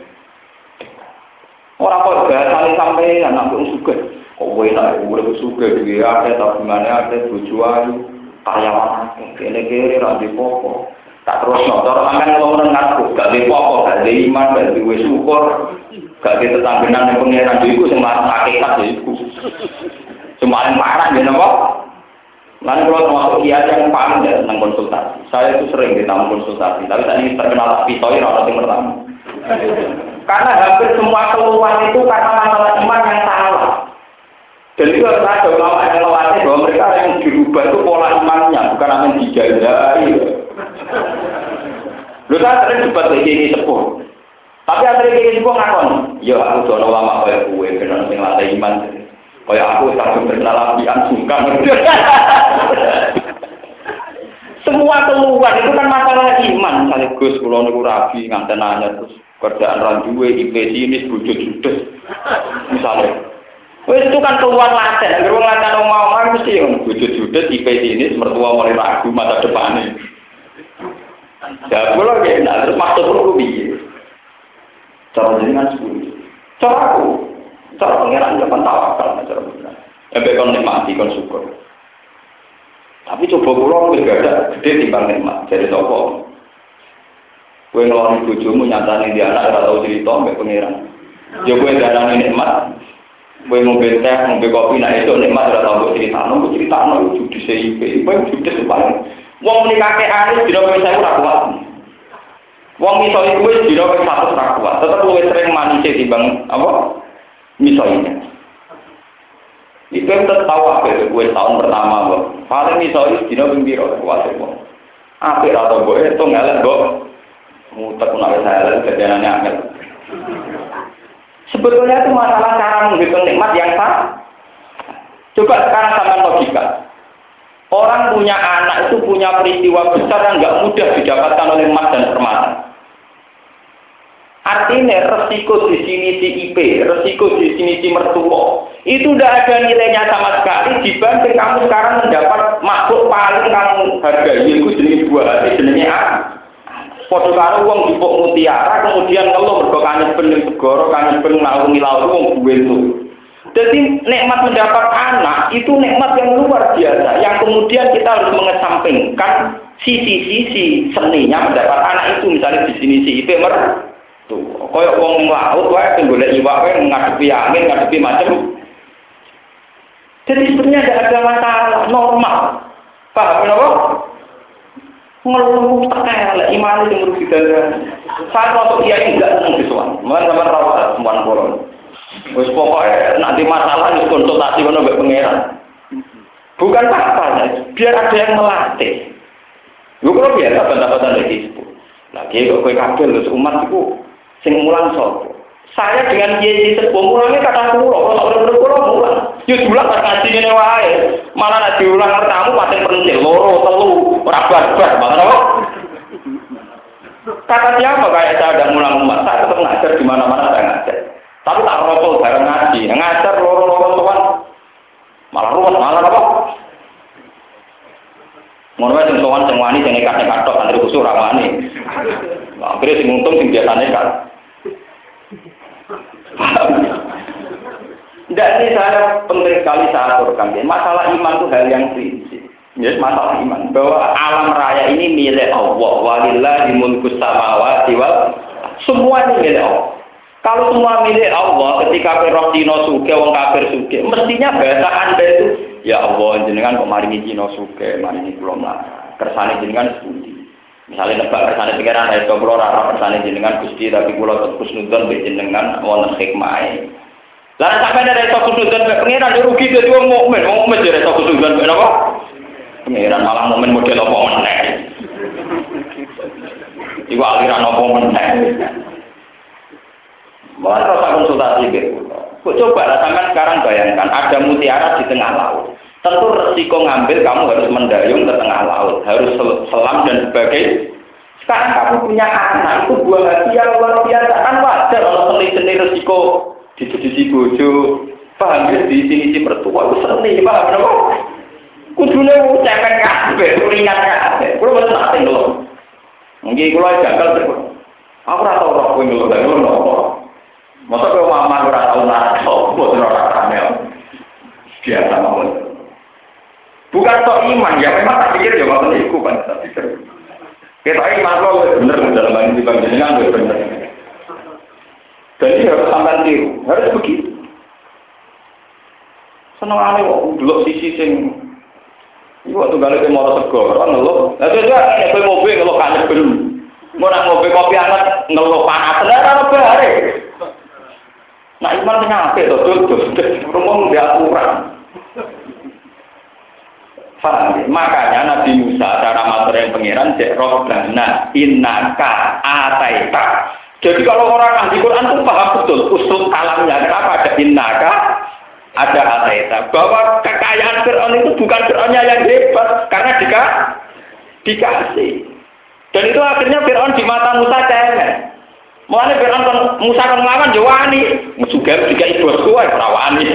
Ora kok bahasane sampai anak wong sugih. Kok kowe nek urip sugih iki akeh ta gimana akeh bojo ayu, karyawan kene-kene ra dipopo. Tak terus cara sampean ngomong ngaku, gak dipopo, gak di iman, gak duwe syukur, gak di tetanggenan ning pengiran iku sing marang hakikat iku. Cuma marah ya napa? Lalu kalau termasuk kiai yang paling ya tentang konsultasi, saya itu sering ditanya konsultasi, tapi tadi terkenal pisoi orang yang pertama. Karena hampir semua keluhan itu karena masalah iman yang salah. Dan itu harus ada ulama yang melatih bahwa mereka yang dirubah itu pola imannya, bukan amin dijajari. Lu saya sering debat ini sepuh, tapi akhirnya ini sepuh ngakon, ya aku dono ulama kayak gue, benar yang latih iman. Kayak aku satu berkenal apian suka. Semua keluhan itu kan masalah iman. Misalnya Gus, kalau niku rabi nganten anyar terus kerjaan randuwe, IP sinis, bojo judes. Misalnya, itu kan keluhan laten. Agar wong laten omong mesti yang bojo judes, IP sinis, mertua mulai ragu masa depannya. Ya, kalau enak terus maksud perlu piye? Cara jenengan sepuluh. Cara aku. Cara pengiran jangan tawakal, cara pengiran. Sampai kon nikmati, kon syukur. Tapi coba pulang, gak ada gede timbang nikmat. Jadi toko. Kue ngeloni bojomu nyatani dia anak, gak tahu cerita, sampai pengiran. Ya kue darani nikmat. Kue ngombe teh, ngombe kopi, nah itu nikmat, gak tahu cerita. Nunggu cerita, nunggu judi CIP. Kue judi sepanjang. Wong menikah ke anis, tidak boleh saya rakuat. Wong misalnya kue, tidak boleh satu rakuat. Tetap kue sering manisnya timbang, apa? Misalnya, itu yang tertawa ke gue tahun pertama, kok. Paling misalnya dino bimbiro kuat kok. Akhir atau gue itu ngelak kok. Mutek menawi saya kejadiannya angel. Sebetulnya itu masalah cara menghitung nikmat yang sah. Coba sekarang sama logika. Orang punya anak itu punya peristiwa besar yang nggak mudah didapatkan oleh emas dan permata. Artinya resiko di sini si IP, resiko di sini si mertua, itu tidak ada nilainya sama sekali dibanding kamu sekarang mendapat makhluk paling kamu hargai, yaitu jenis buah hati, jenisnya apa? Padha karo wong dipuk mutiara kemudian ngeluh mergo kangen ben segara, kangen ben ngalungi laut wong duwe itu. Jadi nikmat mendapat anak itu nikmat yang luar biasa yang kemudian kita harus mengesampingkan sisi-sisi seninya mendapat anak itu. Misalnya di sini si IP tuh koyok wong laut wae sing golek iwak wae ngadepi angin, ngadepi macam. Jadi sebenarnya tidak ada masalah, normal. Paham kenapa? Ngeluh tak iman itu merugi darah. Saya waktu dia tidak senang visual, malah sama rawat semua kolon. Wes pokoknya nanti masalah itu konsultasi dengan mbak pangeran. Bukan apa-apa, biar ada yang melatih. Lu kalau biasa pendapatan dari itu, lagi kok kue kabel umat itu sing mulang sopo. Saya dengan kiai sepuh mulangnya kata pulau, kalau bener-bener pulau mulang. Yo diulang pas ngaji ngene wae. Malah nek diulang tamu paten pentil loro, telu, ora bar-bar, makane apa? Kata siapa kayak saya ada mulang umat, saya tetap ngajar di mana-mana saya ngajar. Tapi tak rokok bareng ngaji, ngajar loro-loro tuan. Malah ruwet, malah apa? Ngono wae sing sowan sing wani sing nekat-nekat tok santri kusuk ra wani. Akhire sing untung sing biasa nekat. Tidak, ini saya penting sekali saya aturkan. Masalah iman itu hal yang prinsip. Yes, masalah iman bahwa alam raya ini milik Allah. Walillahi mulkus samawati wal. Semua ini milik Allah. Kalau semua milik Allah, ketika roh dino suge, wong kafir suge, mestinya bahasa Anda itu, ya Allah, jenengan kok maringi dino suge, maringi kula mlarat. Kersane jenengan sepundi. Misalnya nebak kersane pikiran itu kula ora kersane jenengan Gusti, tapi kula terus nudon mbek jenengan wonten hikmahe. Lah sampai dari iso kusudon mek pengiran rugi dadi wong mukmin jare iso kusudon mek napa? Pengiran malah mukmin model apa meneh. Iku aliran apa meneh. Malah rasa konsultasi gitu. Kok coba lah sampean sekarang bayangkan ada mutiara di tengah laut. Tentu resiko ngambil kamu harus mendayung ke tengah laut, harus selam dan sebagainya. Sekarang kamu punya anak itu buah hati yang luar biasa kan wajar kalau seni resiko di bojo, paham ya di sini si mertua itu seni, paham kenapa? Kudune cemen kabeh, ringan kabeh. Kulo mboten nate lho. Nggih kulo janggal terus. Aku ora tau roh kuwi lho, lha ngono. Masa kowe mama ora tau nate, mboten ora kamel. Biasa mawon. Bukan tok iman, ya memang tak pikir ya ngoten iku kan tak pikir. Kita iman lo bener dalam hal ini panjenengan bener. Dan ini harus sampai tiru, harus begitu. Senang aneh kok, dulu sisi sing, itu waktu kali ke Moro Sego, orang ngeluh. Nah itu juga, ini mobil ngeluh kanyak belum. Mau nak mobil kopi hangat ngeluh panas, ada apa hari? Nah iman nyampe, tuh, rumah udah aturan. Paham? Makanya Nabi Musa cara materi pengiran cek robbana innaka ataita. Jadi kalau orang ahli Quran itu paham betul usul kalamnya. Kenapa ada innaka, ada ataita. Bahwa kekayaan Fir'aun itu bukan Fir'aunnya yang hebat, karena dikasih. Dan itu akhirnya Fir'aun di mata Musa cemen. Mulanya Fir'aun Musa kan ngelawan jawani. Juga ibu tua perawani.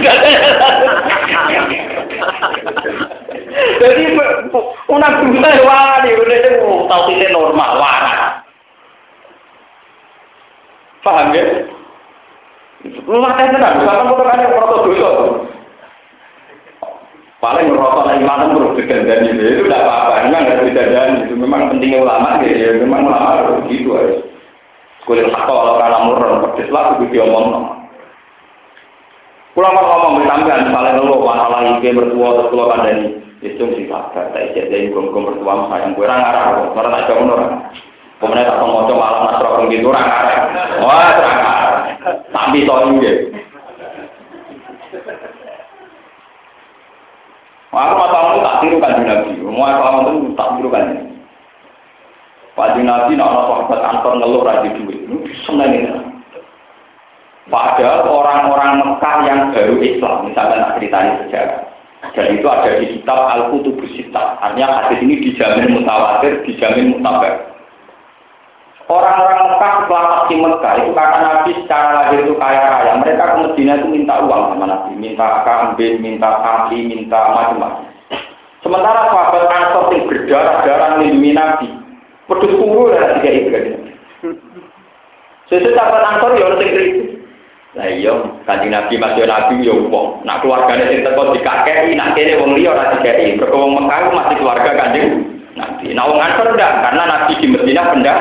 Jadi unak Musa jawani. Itu tahu tidak normal waras. Paham ya? Rumah teh tenan, misalkan foto kan yang foto dosa. Paling merosot iman terus digandani itu tidak apa-apa, memang harus digandani. Itu memang pentingnya ulama ya, memang ulama harus begitu harus. Kulit sakau kalau kalah murah, pedes lah itu diomong. Ulama ngomong bersambian, misalnya lo masalah ide bertua terus lo kandani, itu sih sabar. Saya jadi gom bertua sayang kurang arah, karena tak jauh orang. Kemudian tak ngomong malam nasrul gitu orang arah. Wah terang arah. Tapi soal ini. Aku masalah itu tak tirukan di Nabi. Masalah itu tak tirukan. Pak Nabi nak sahabat Anton ngeluh raja duit. Sebenarnya. Padahal orang-orang Mekah yang baru Islam, misalnya nak ceritanya sejarah. Dan itu ada di kitab Al-Qutubus Sittah. Artinya hadis ini dijamin mutawatir, dijamin mutabar. Orang-orang Mekah setelah Fathu Mekah itu kata Nabi secara lahir itu kaya raya. Mereka ke Madinah itu minta uang sama Nabi, minta kambing, minta sapi, minta macam-macam. Sementara sahabat Ansor yang berdarah-darah melindungi Nabi, Pedus kuru lah tiga itu kan. Sesuatu sahabat Ansor ya orang kritis. Lah iya, Kanjeng Nabi masih Nabi ya wong. Nak keluargane sing teko dikakeki, nak kene wong liya ora dikeki. Mergo wong Mekah masih keluarga Kanjeng Nabi. Nah wong Ansor ndak, karena Nabi di Madinah pendak.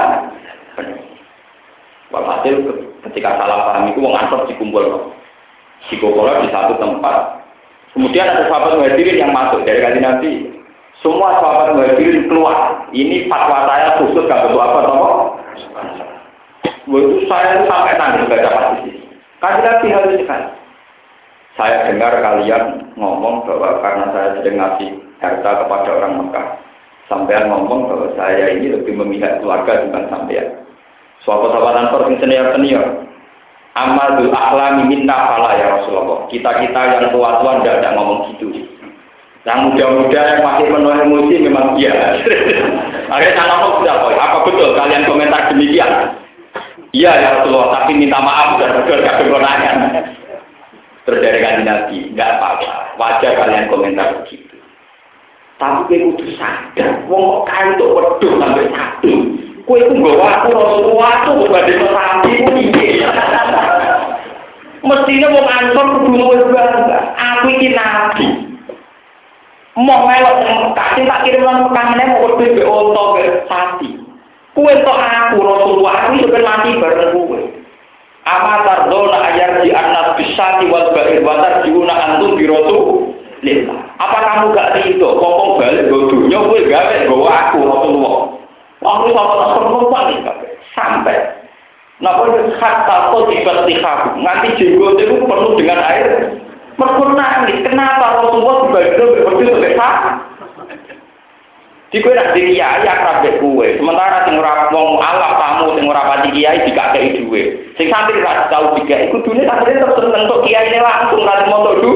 Walhasil ketika salah paham itu wong Ansor dikumpul. Dikumpul di satu tempat. Kemudian ada sahabat Muhajirin yang masuk dari Kanjeng Nabi. Semua sahabat Muhajirin keluar. Ini fatwa saya khusus gak betul apa toh. Waktu saya sampai tanggung baca hadis. Kanjeng Nabi harus sekali. Saya dengar kalian ngomong bahwa karena saya sedang ngasih harta kepada orang Mekah, sampean ngomong bahwa saya ini lebih memihak keluarga dibanding sampean. Sahabat-sahabat Ansor yang senior, amalul akhlami minna fala ya Rasulullah. Kita yang tua-tua tidak ngomong gitu. Yang muda-muda yang masih penuh emosi memang iya. Akhirnya saya ngomong sudah, apa betul kalian komentar demikian? Iya ya Rasulullah, tapi minta maaf sudah gak berkenangan. Terus dari Kanjeng Nabi, enggak apa-apa, wajar kalian komentar begitu. Tapi kowe kudu sadar, wong kok itu wedhus sampai satu. Kowe iku nggawa aku Rasulullah tuh badhe sapi ku piye. Mestine wong Ansor kudu luwih bangga. Aku iki nabi. Mau melok Mekah, tak kirim nang Mekah meneh mau wedhus be unta be sapi. Kue tok aku Rasulullah aku sampai mati bareng kue. Amatar dona ayar di anak bisati wal bair watar diuna antum birotu lillah. Apa kamu gak itu? Ngomong balik bodohnya kue gawe bawa aku Rasulullah. Aku sama Rasulullah nih sampai. Napa kata kau tiba-tiba nganti jenggot itu penuh dengan air. Nangis. Kenapa Rasulullah dibanding berbeda sebesar? Di kue nak di kiai akrab dek kue. Sementara sing ora wong alaf tamu sing ora pati kiai dikakei duwe. Sing santri ra tau dikakei kudune santri terus entuk kiai langsung ra moto du.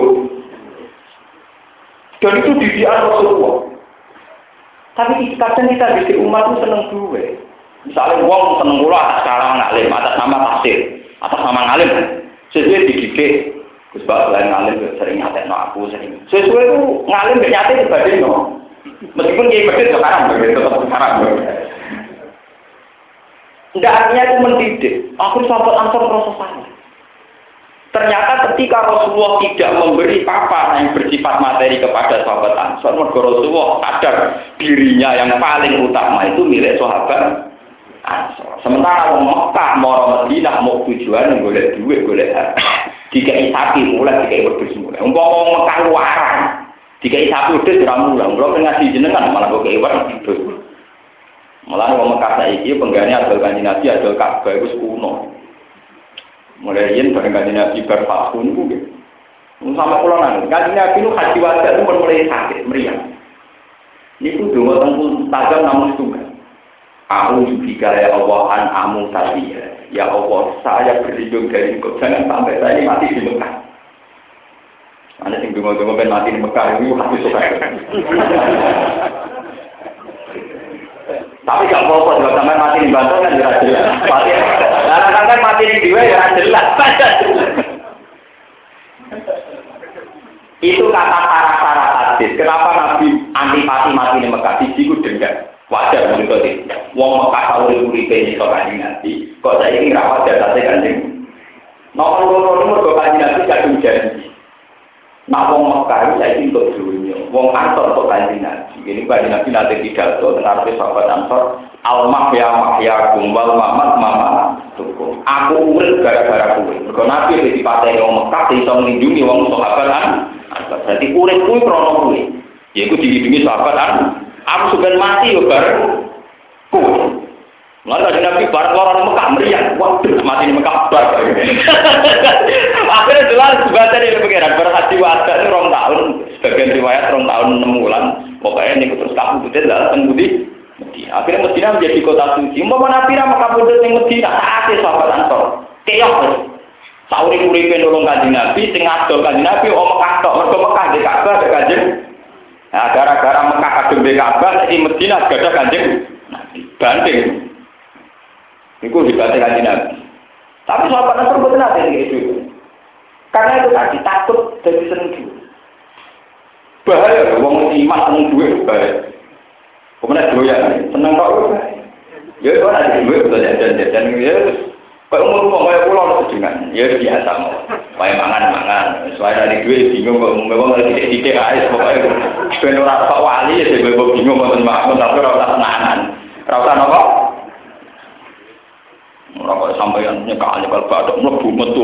Dan itu didikan Rasulullah. Tapi kadang kita di umat itu seneng duwe. Misalnya wong seneng kula sekarang ngalim atas nama tafsir, atas nama ngalim. Sesuai dididik. Gus Bak lain ngalim sering ngatekno aku sering. Sesuai itu ngalim gak nyate dibandingno. Meskipun kiai medit sekarang tetap sekarang. Tidak artinya itu mendidik. Aku sahabat Ansor merasa salah. Ternyata ketika Rasulullah tidak memberi apa yang bersifat materi kepada sahabat Ansor, maka Rasulullah sadar dirinya yang paling utama itu milik sahabat Ansor. Sementara orang Mekah mau Madinah mau tujuan golek duit golek harta. Dikai sapi mulai dikai wedhus mulai. Umpama Mekah luaran. Dikai sapi wedhus ora mulang. Kula ngaji jenengan malah kok wedhus. Malah wong Mekah saiki penggane adol Kanjeng Nabi adol Ka'bah iku kuno. Mulai yen bareng Kanjeng Nabi bar tahun niku nggih. Sampai kula nang Kanjeng Nabi nu haji wajah itu mulai sakit meriang. Niku donga teng tajam namun tunggal. Aku juga ya Allah an amu tadi ya Allah saya berlindung dari engkau jangan sampai saya ini mati di Mekah. Ada yang dengar ben mati di Mekah itu hati suka. Tapi gak apa-apa kalau sampai mati di Banten kan jelas jelas. Mati, kan mati di Diwe ya jelas. Itu kata syarat-syarat hadis. Kenapa Nabi antipati mati di Mekah? Dijiku dengar. Wajar menurut itu. Wong Mekah tahu uripe ini kok Kanjeng Nabi. Kok saya ini rapat jasate Kanjeng. Nomor nomor kok Kanjeng Nabi kadung janji. Nah wong Mekah itu saya untuk dunia. Wong Ansor kok Kanjeng Nabi. Ini Kanjeng Nabi nanti pidato tentang sahabat Ansor. Al-Mahya kumbal mamat mama tukum. Aku urip gara-gara kowe. Mergo Nabi dipateni wong Mekah iso nglindungi wong sahabat Ansor. Berarti urip kuwi krana kowe. Yaiku dilindungi sahabat Ansor. Aku sudah mati yo bareng kowe. Lalu ada Nabi bareng orang Mekah meriang. Waduh mati di Mekah bar. Akhirnya jelas sebaca di pengiran berhaji wajah itu 2 tahun. Sebagian riwayat 2 tahun 6 bulan. Pokoknya ini terus kamu putih adalah tembudi. Akhirnya Medina menjadi kota suci. Umpama Nabi ra Mekah putih yang Medina saatnya sahabat Ansor. Keok. Sauri-uripe nolong Kanjeng Nabi sing adol Kanjeng Nabi Mekah tok. Mergo Mekah di Ka'bah ada Kanjeng. Nah, gara-gara Mekah kadung di Ka'bah di Medina ada Kanjeng Nabi. Banding. Iku hebatnya Kanjeng Nabi. Tapi sahabat Ansor boten ate itu. Karena itu tadi takut jadi seneng duit. Bahaya wong iman seneng duit bahaya. Kemudian doyan seneng kok. Ya kok ada duit betul jajan ya. Kok umur kaya pulau sejengan. Ya biasa mau. Kaya mangan. Soalnya dari duit bingung kok ngomong titik-titik ae pokoke ben ora kok wali ya sebab bingung kok makmum tapi ora usah tenanan. Ora usah napa? Ora kok sampeyan nyekal bathuk mlebu metu.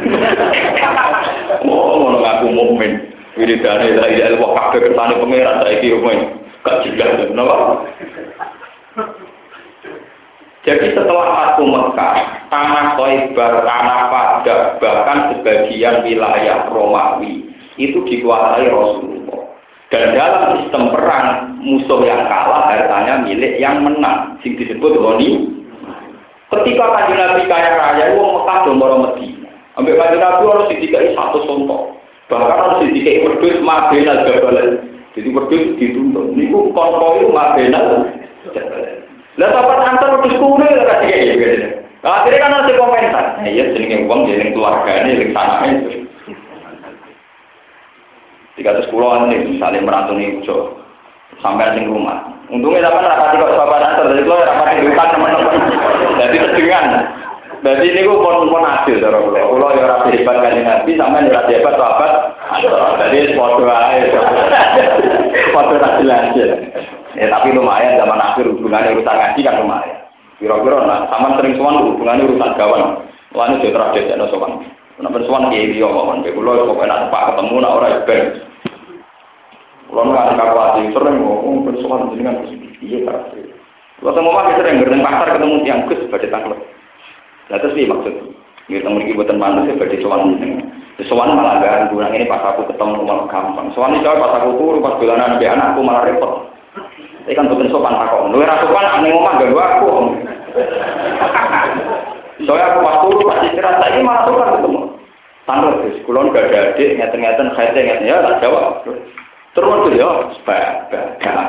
Oh, ngono ngaku mukmin. Wiridane la ilaha illallah kabeh kersane pangeran saiki rumah. Gak jelas napa? Jadi setelah Fathu Mekah, tanah Thaibah, tanah Padang, bahkan sebagian wilayah Romawi itu dikuasai Rasulullah. Dan dalam sistem perang, musuh yang kalah hartanya milik yang menang, yang disebut Ghani. Ketika Kanjeng Nabi kaya raya, wong Mekah do maro Madinah. Ambek Kanjeng Nabi harus didikai satu contoh. Bahkan harus didikai wedhus mabenal jabal. Jadi wedhus dituntut. Niku konvoy mabenal jabal. Lah sahabat antar wedhus kuno ora dikek gitu. Akhirnya kan harus komentar. Iya jenenge wong jeneng keluargane ning sanane. 310 ane misalnya merantuni ujo sampai ning rumah. Untungnya sampean rapati kok sahabat antar dari kula rapati diutak teman-teman. Jadi sedengan. Berarti niku pun adil cara kula. Kula ya ora hebat kan Nabi sampean ora hebat sahabat. Jadi padha ae. Padha tak jelas. Ya tapi lumayan zaman akhir hubungannya urusan ngaji kan lumayan. Kira-kira nah sama sering sowan hubungannya urusan gawan. Wah ini jauh terjadi ada sowan. Kenapa sowan kiai dia ngomong, kalau pokoknya pak ketemu nak orang iben. Kalau nggak kakuati sering ngomong bersowan dengan iya tak. Kalau semua kita sering bertemu pasar ketemu tiang gus pada tanggal. Nah terus sih maksud. Kita memiliki buatan manusia seperti sowan ini. Sowan malah gak kurang ini pas aku ketemu malah gampang. Sowan ini pas aku turu pas bulanan anak anakku malah repot. Saya kan bukan sopan takut. Lu rasa sopan aneh ngomong gak aku. Soalnya aku waktu pasti cerita ini malah sopan ketemu. Tanggal terus, kulon gak ada adik, ngeten-ngeten, khayte-ngeten ya tak jawab. Terus tuh ya, sebagai.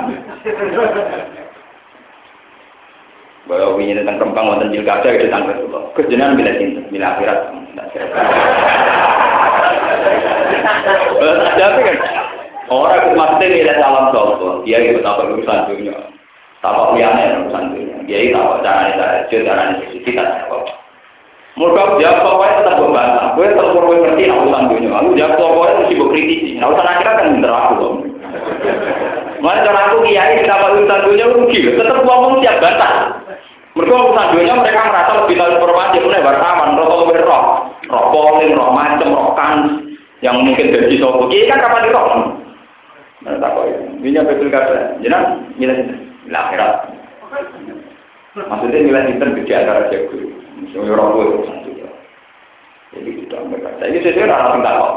Bahwa ini tentang rempang wonten pilkada itu tanggal itu. Kejenengan bila cinta, bila akhirat. Tapi kan. Orang maksudnya tidak salam soal, dia itu tak urusan dunia, tak liane urusan dunia. Dia itu tak caranya caranya kita tak. Mudah dia pokoknya tetap berbahasa. Gue tetap perlu ngerti urusan dunia. Aku dia pokoknya mesti berkritisi. Nah urusan akhirat kan bener aku loh. Mana cara aku kiai kenapa urusan dunia rugi? Tetap ngomong siap bantah. Mereka urusan dunia mereka merasa lebih tahu informasi. Mulai wartawan, roh polling, roh macam, roh kan yang mungkin jadi sopo. Kiai kan kapan dirok? Tak kau ini betul kata, jenang nilai akhirat. Maksudnya nilai inter di antara jago, misalnya orang tua itu satu. Jadi kita mereka. Jadi sesuai orang tinggal kau.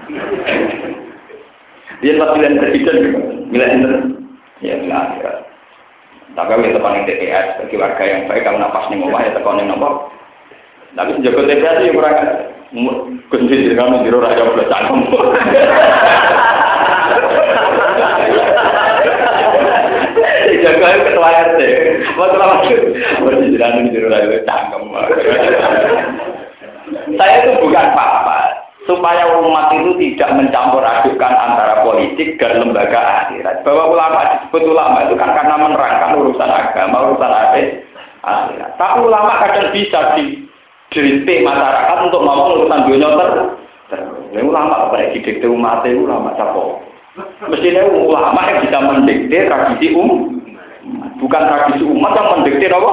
Dia pilihan presiden nilai inter, ya nilai akhirat. Tapi kita paling TPS bagi warga yang baik kalau nafas nih ngomong ya tekan yang nombor. Tapi jago TPS sih kurang kunci dengan jiro raja belas cangkem. Jaga ketua RT, maksud berjalan di rumah cangkem. Saya itu bukan apa-apa, supaya umat itu tidak mencampur adukan antara politik dan lembaga akhirat. Bahwa ulama disebut ulama itu kan karena menerangkan urusan agama, urusan akhirat. Tapi ulama kadang bisa didikte masyarakat untuk ngomong urusan dunia ulama apa yang didikte umat itu ulama siapa? Mestinya ulama yang bisa mendikte tradisi bukan tradisi umat yang mendikte apa?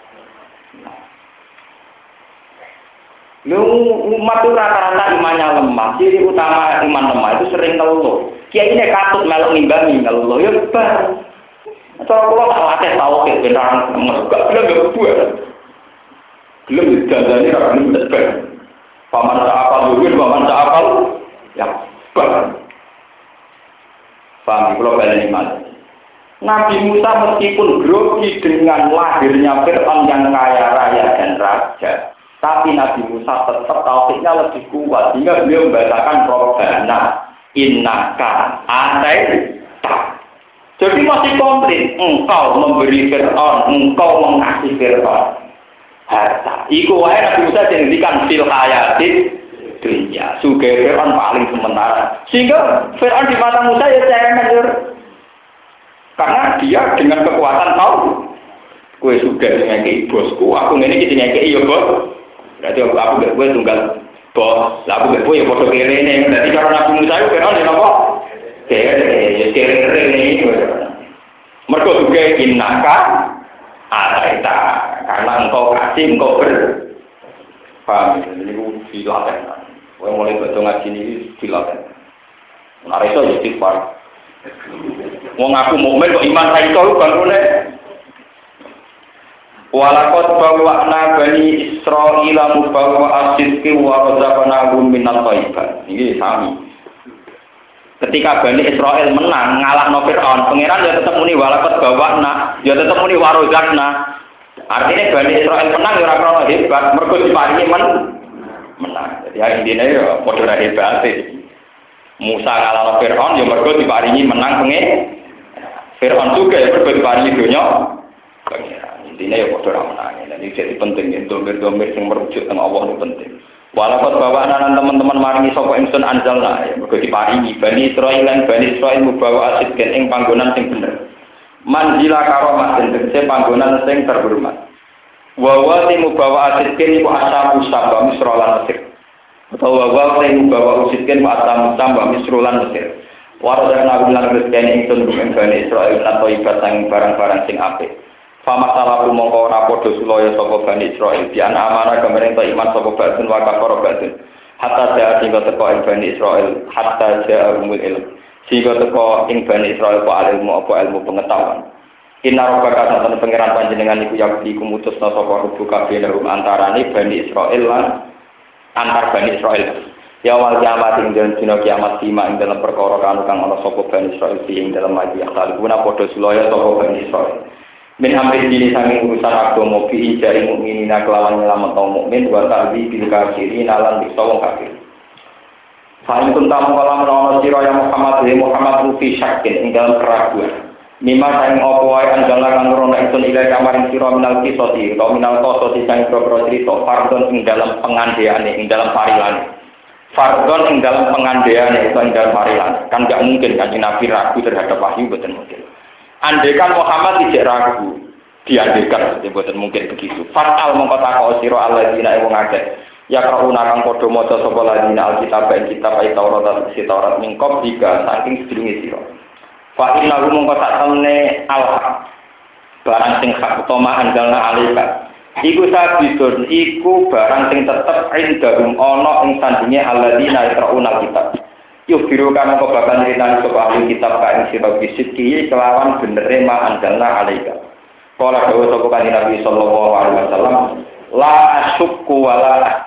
Umat itu rata-rata imannya lemah. Ciri utama iman lemah itu sering ngeluh. Kiai ini katut melok nimbangi ngeluh ya bar. Cara kula tak latih tauhid beneran enggak gelem buat. Gelem dadane ra gelem tebar. Paman apa duwe paman apa ya bar. Paham, kalau baleni mal. Nabi Musa meskipun grogi dengan lahirnya Fir'aun yang kaya raya dan raja, tapi Nabi Musa tetap tauhidnya lebih kuat, sehingga beliau membacakan Robbana innaka ataita. Jadi masih komplit, engkau memberi Fir'aun, engkau mengasihi Fir'aun harta. Iku wae Nabi Musa dihentikan fil hayatid dunia, suge Fir'aun paling sementara. Sehingga Fir'aun di mata Musa ya cemen. Karena dia dengan kekuatan Kowe sudah ngekeki bosku, aku ngene iki ngekeki ya bos. Berarti aku mbek kowe tunggal bos. Lah aku mbek kowe ya padha kerene. Dadi karo Nabi Musa iku kena napa? Kere iki. Mergo juga innaka ataita karena engkau kasih engkau ber. Paham ini ku dilaten. Kowe mulai baca ngaji ini dilaten. Ora iso ya istighfar. Wong aku mukmin kok iman ra iso bangune. Walakot bawa'na bani Israila mubawa asidki wa razaqnahum minat thayyibat. Ini sami. Ketika Bani Israel menang ngalahno Firaun, pangeran ya tetep muni walakot bawa'na, ya tetep muni wa razaqna. Artinya Bani Israel menang ya ora krono hebat, mergo diparingi menang. Jadi intine ya padha ra hebat. Musa ngalahno Firaun ya mergo diparingi menang Firaun juga ya mergo diparingi donya. Intinya ya bodoh ramadhan. Jadi jadi penting ya domir-domir yang merujuk tentang Allah itu penting. Walaupun bawa anak teman-teman maringi sapa ingsun anjalna ya mergo diparingi Bani Israil lan Bani Israil mubawa asid ing panggonan sing bener. Manzila karomah den tegese panggonan sing terhormat. Wa sing mubawa asid iku asamu samba Misra lan Mesir. Utawa wa sing mubawa asid iku asamu samba Misra lan Mesir. Waradana lan rezeki ingsun ing Bani Israil lan toibat sang barang-barang sing apik. Fama salaku mongko ora padha sulaya sapa Bani Israil dian amanah gamane ento iman sapa batun wa kafara batun hatta jaa sing teko ing Bani Israil hatta jaa umul ilm sing teko ing Bani Israil apa ilmu pengetahuan inna rabbaka satan pangeran panjenengan iku yakti kumutusna sapa rubu kabeh antarane Bani Israil lan antar Bani Israil ya wal kiamat ing dina kiamat sima ing dalam perkara kang ana sapa Bani Israil ing dalam maji akal guna padha sulaya sapa Bani Israil min amri dini saking urusan agama fi jari mukminina kelawan nyelametno mukmin wa ta'dzi bil kafirin lan bisa wong kafir. Fa in kunta mongkala menawa sira ya Muhammad rufi syakin ing dalam keraguan. Mima saing apa wae anjala kang rono ingsun ila kamaring sira minal kisoti utawa minal qasati saing pro crita fardon ing dalam pengandeane ing dalam parilane. Fardon ing dalam pengandeane utawa ing dalam parilane. Kan gak mungkin Kanjeng Nabi ragu terhadap wahyu boten mungkin. Andekan Muhammad tidak ragu, diandekan, bukan mungkin begitu. Fatal mengkotak siro alladzina wong akeh. Ya krauna kang padha maca sapa alladzina alkitab ing kitab Taurat si Taurat mingkop jika saking sedurunge sira. Fa inna mengkotak temne al-haq. Barang sing hak utama andalna alika. Iku sabidun iku barang sing tetep indahum ana ing sandinge alladzina krauna kitab. Yuk biru kamu kebakan cerita sapa ahli kitab kain sira bisidki kelawan benere ma andalna alaika. Kala dawuh sapa kanjeng Nabi sallallahu alaihi wasallam, la asyukku wala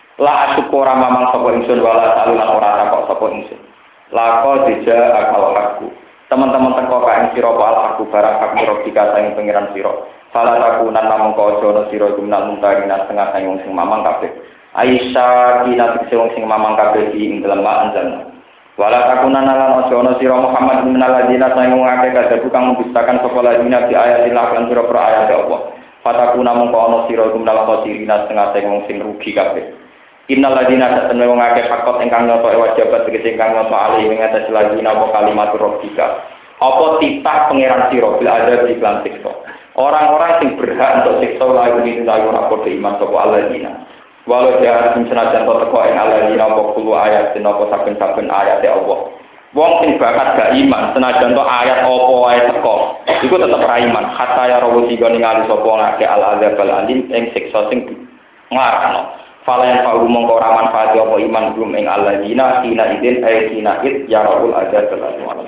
ora mamang sapa ingsun wala salulan ora takok sapa ingsun. Lako dija akal hakku. Teman-teman teko kain sira wal hakku barang hak robika saing pangeran sira. Salah takunan namung kaono sira gumnal muntarina setengah saing sing mamang kabeh. Aisyah kinat sing mamang kabeh ing dalem anjalna. Wala takunan lan aja ana sira Muhammad minal ladina saing ngake kadhe kang membistakan sapa ladina di ayat lan sira per ayat Allah. Fatakuna mongko ana sira minal khosirina setengah sing rugi kabeh. Innal ladina satene wong akeh fakot ingkang nyoto wajibat tegese ingkang nyoto ali ing atas ladina apa kalimat rabbika. Apa titah pangeran sira bil adab iklan siksa. Orang-orang sing berhak untuk siksa lagu ini lagu ora padha iman sapa alladzina. Walau jahat senajan teko ing alladzina apa kulo ayat apa saben-saben ayat Allah. Wong sing bakat gak iman senajan to ayat apa wae teko, iku tetep ra iman. Hatta ya rawu tiga ningali sapa ngake al-adzab al-alim ing siksa sing nglarano. Fala yang fa'u mongko ora manfaat apa iman gum ing alladzina hina idin hina id ya rabbul adzab al-alim.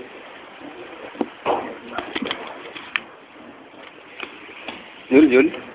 Jul.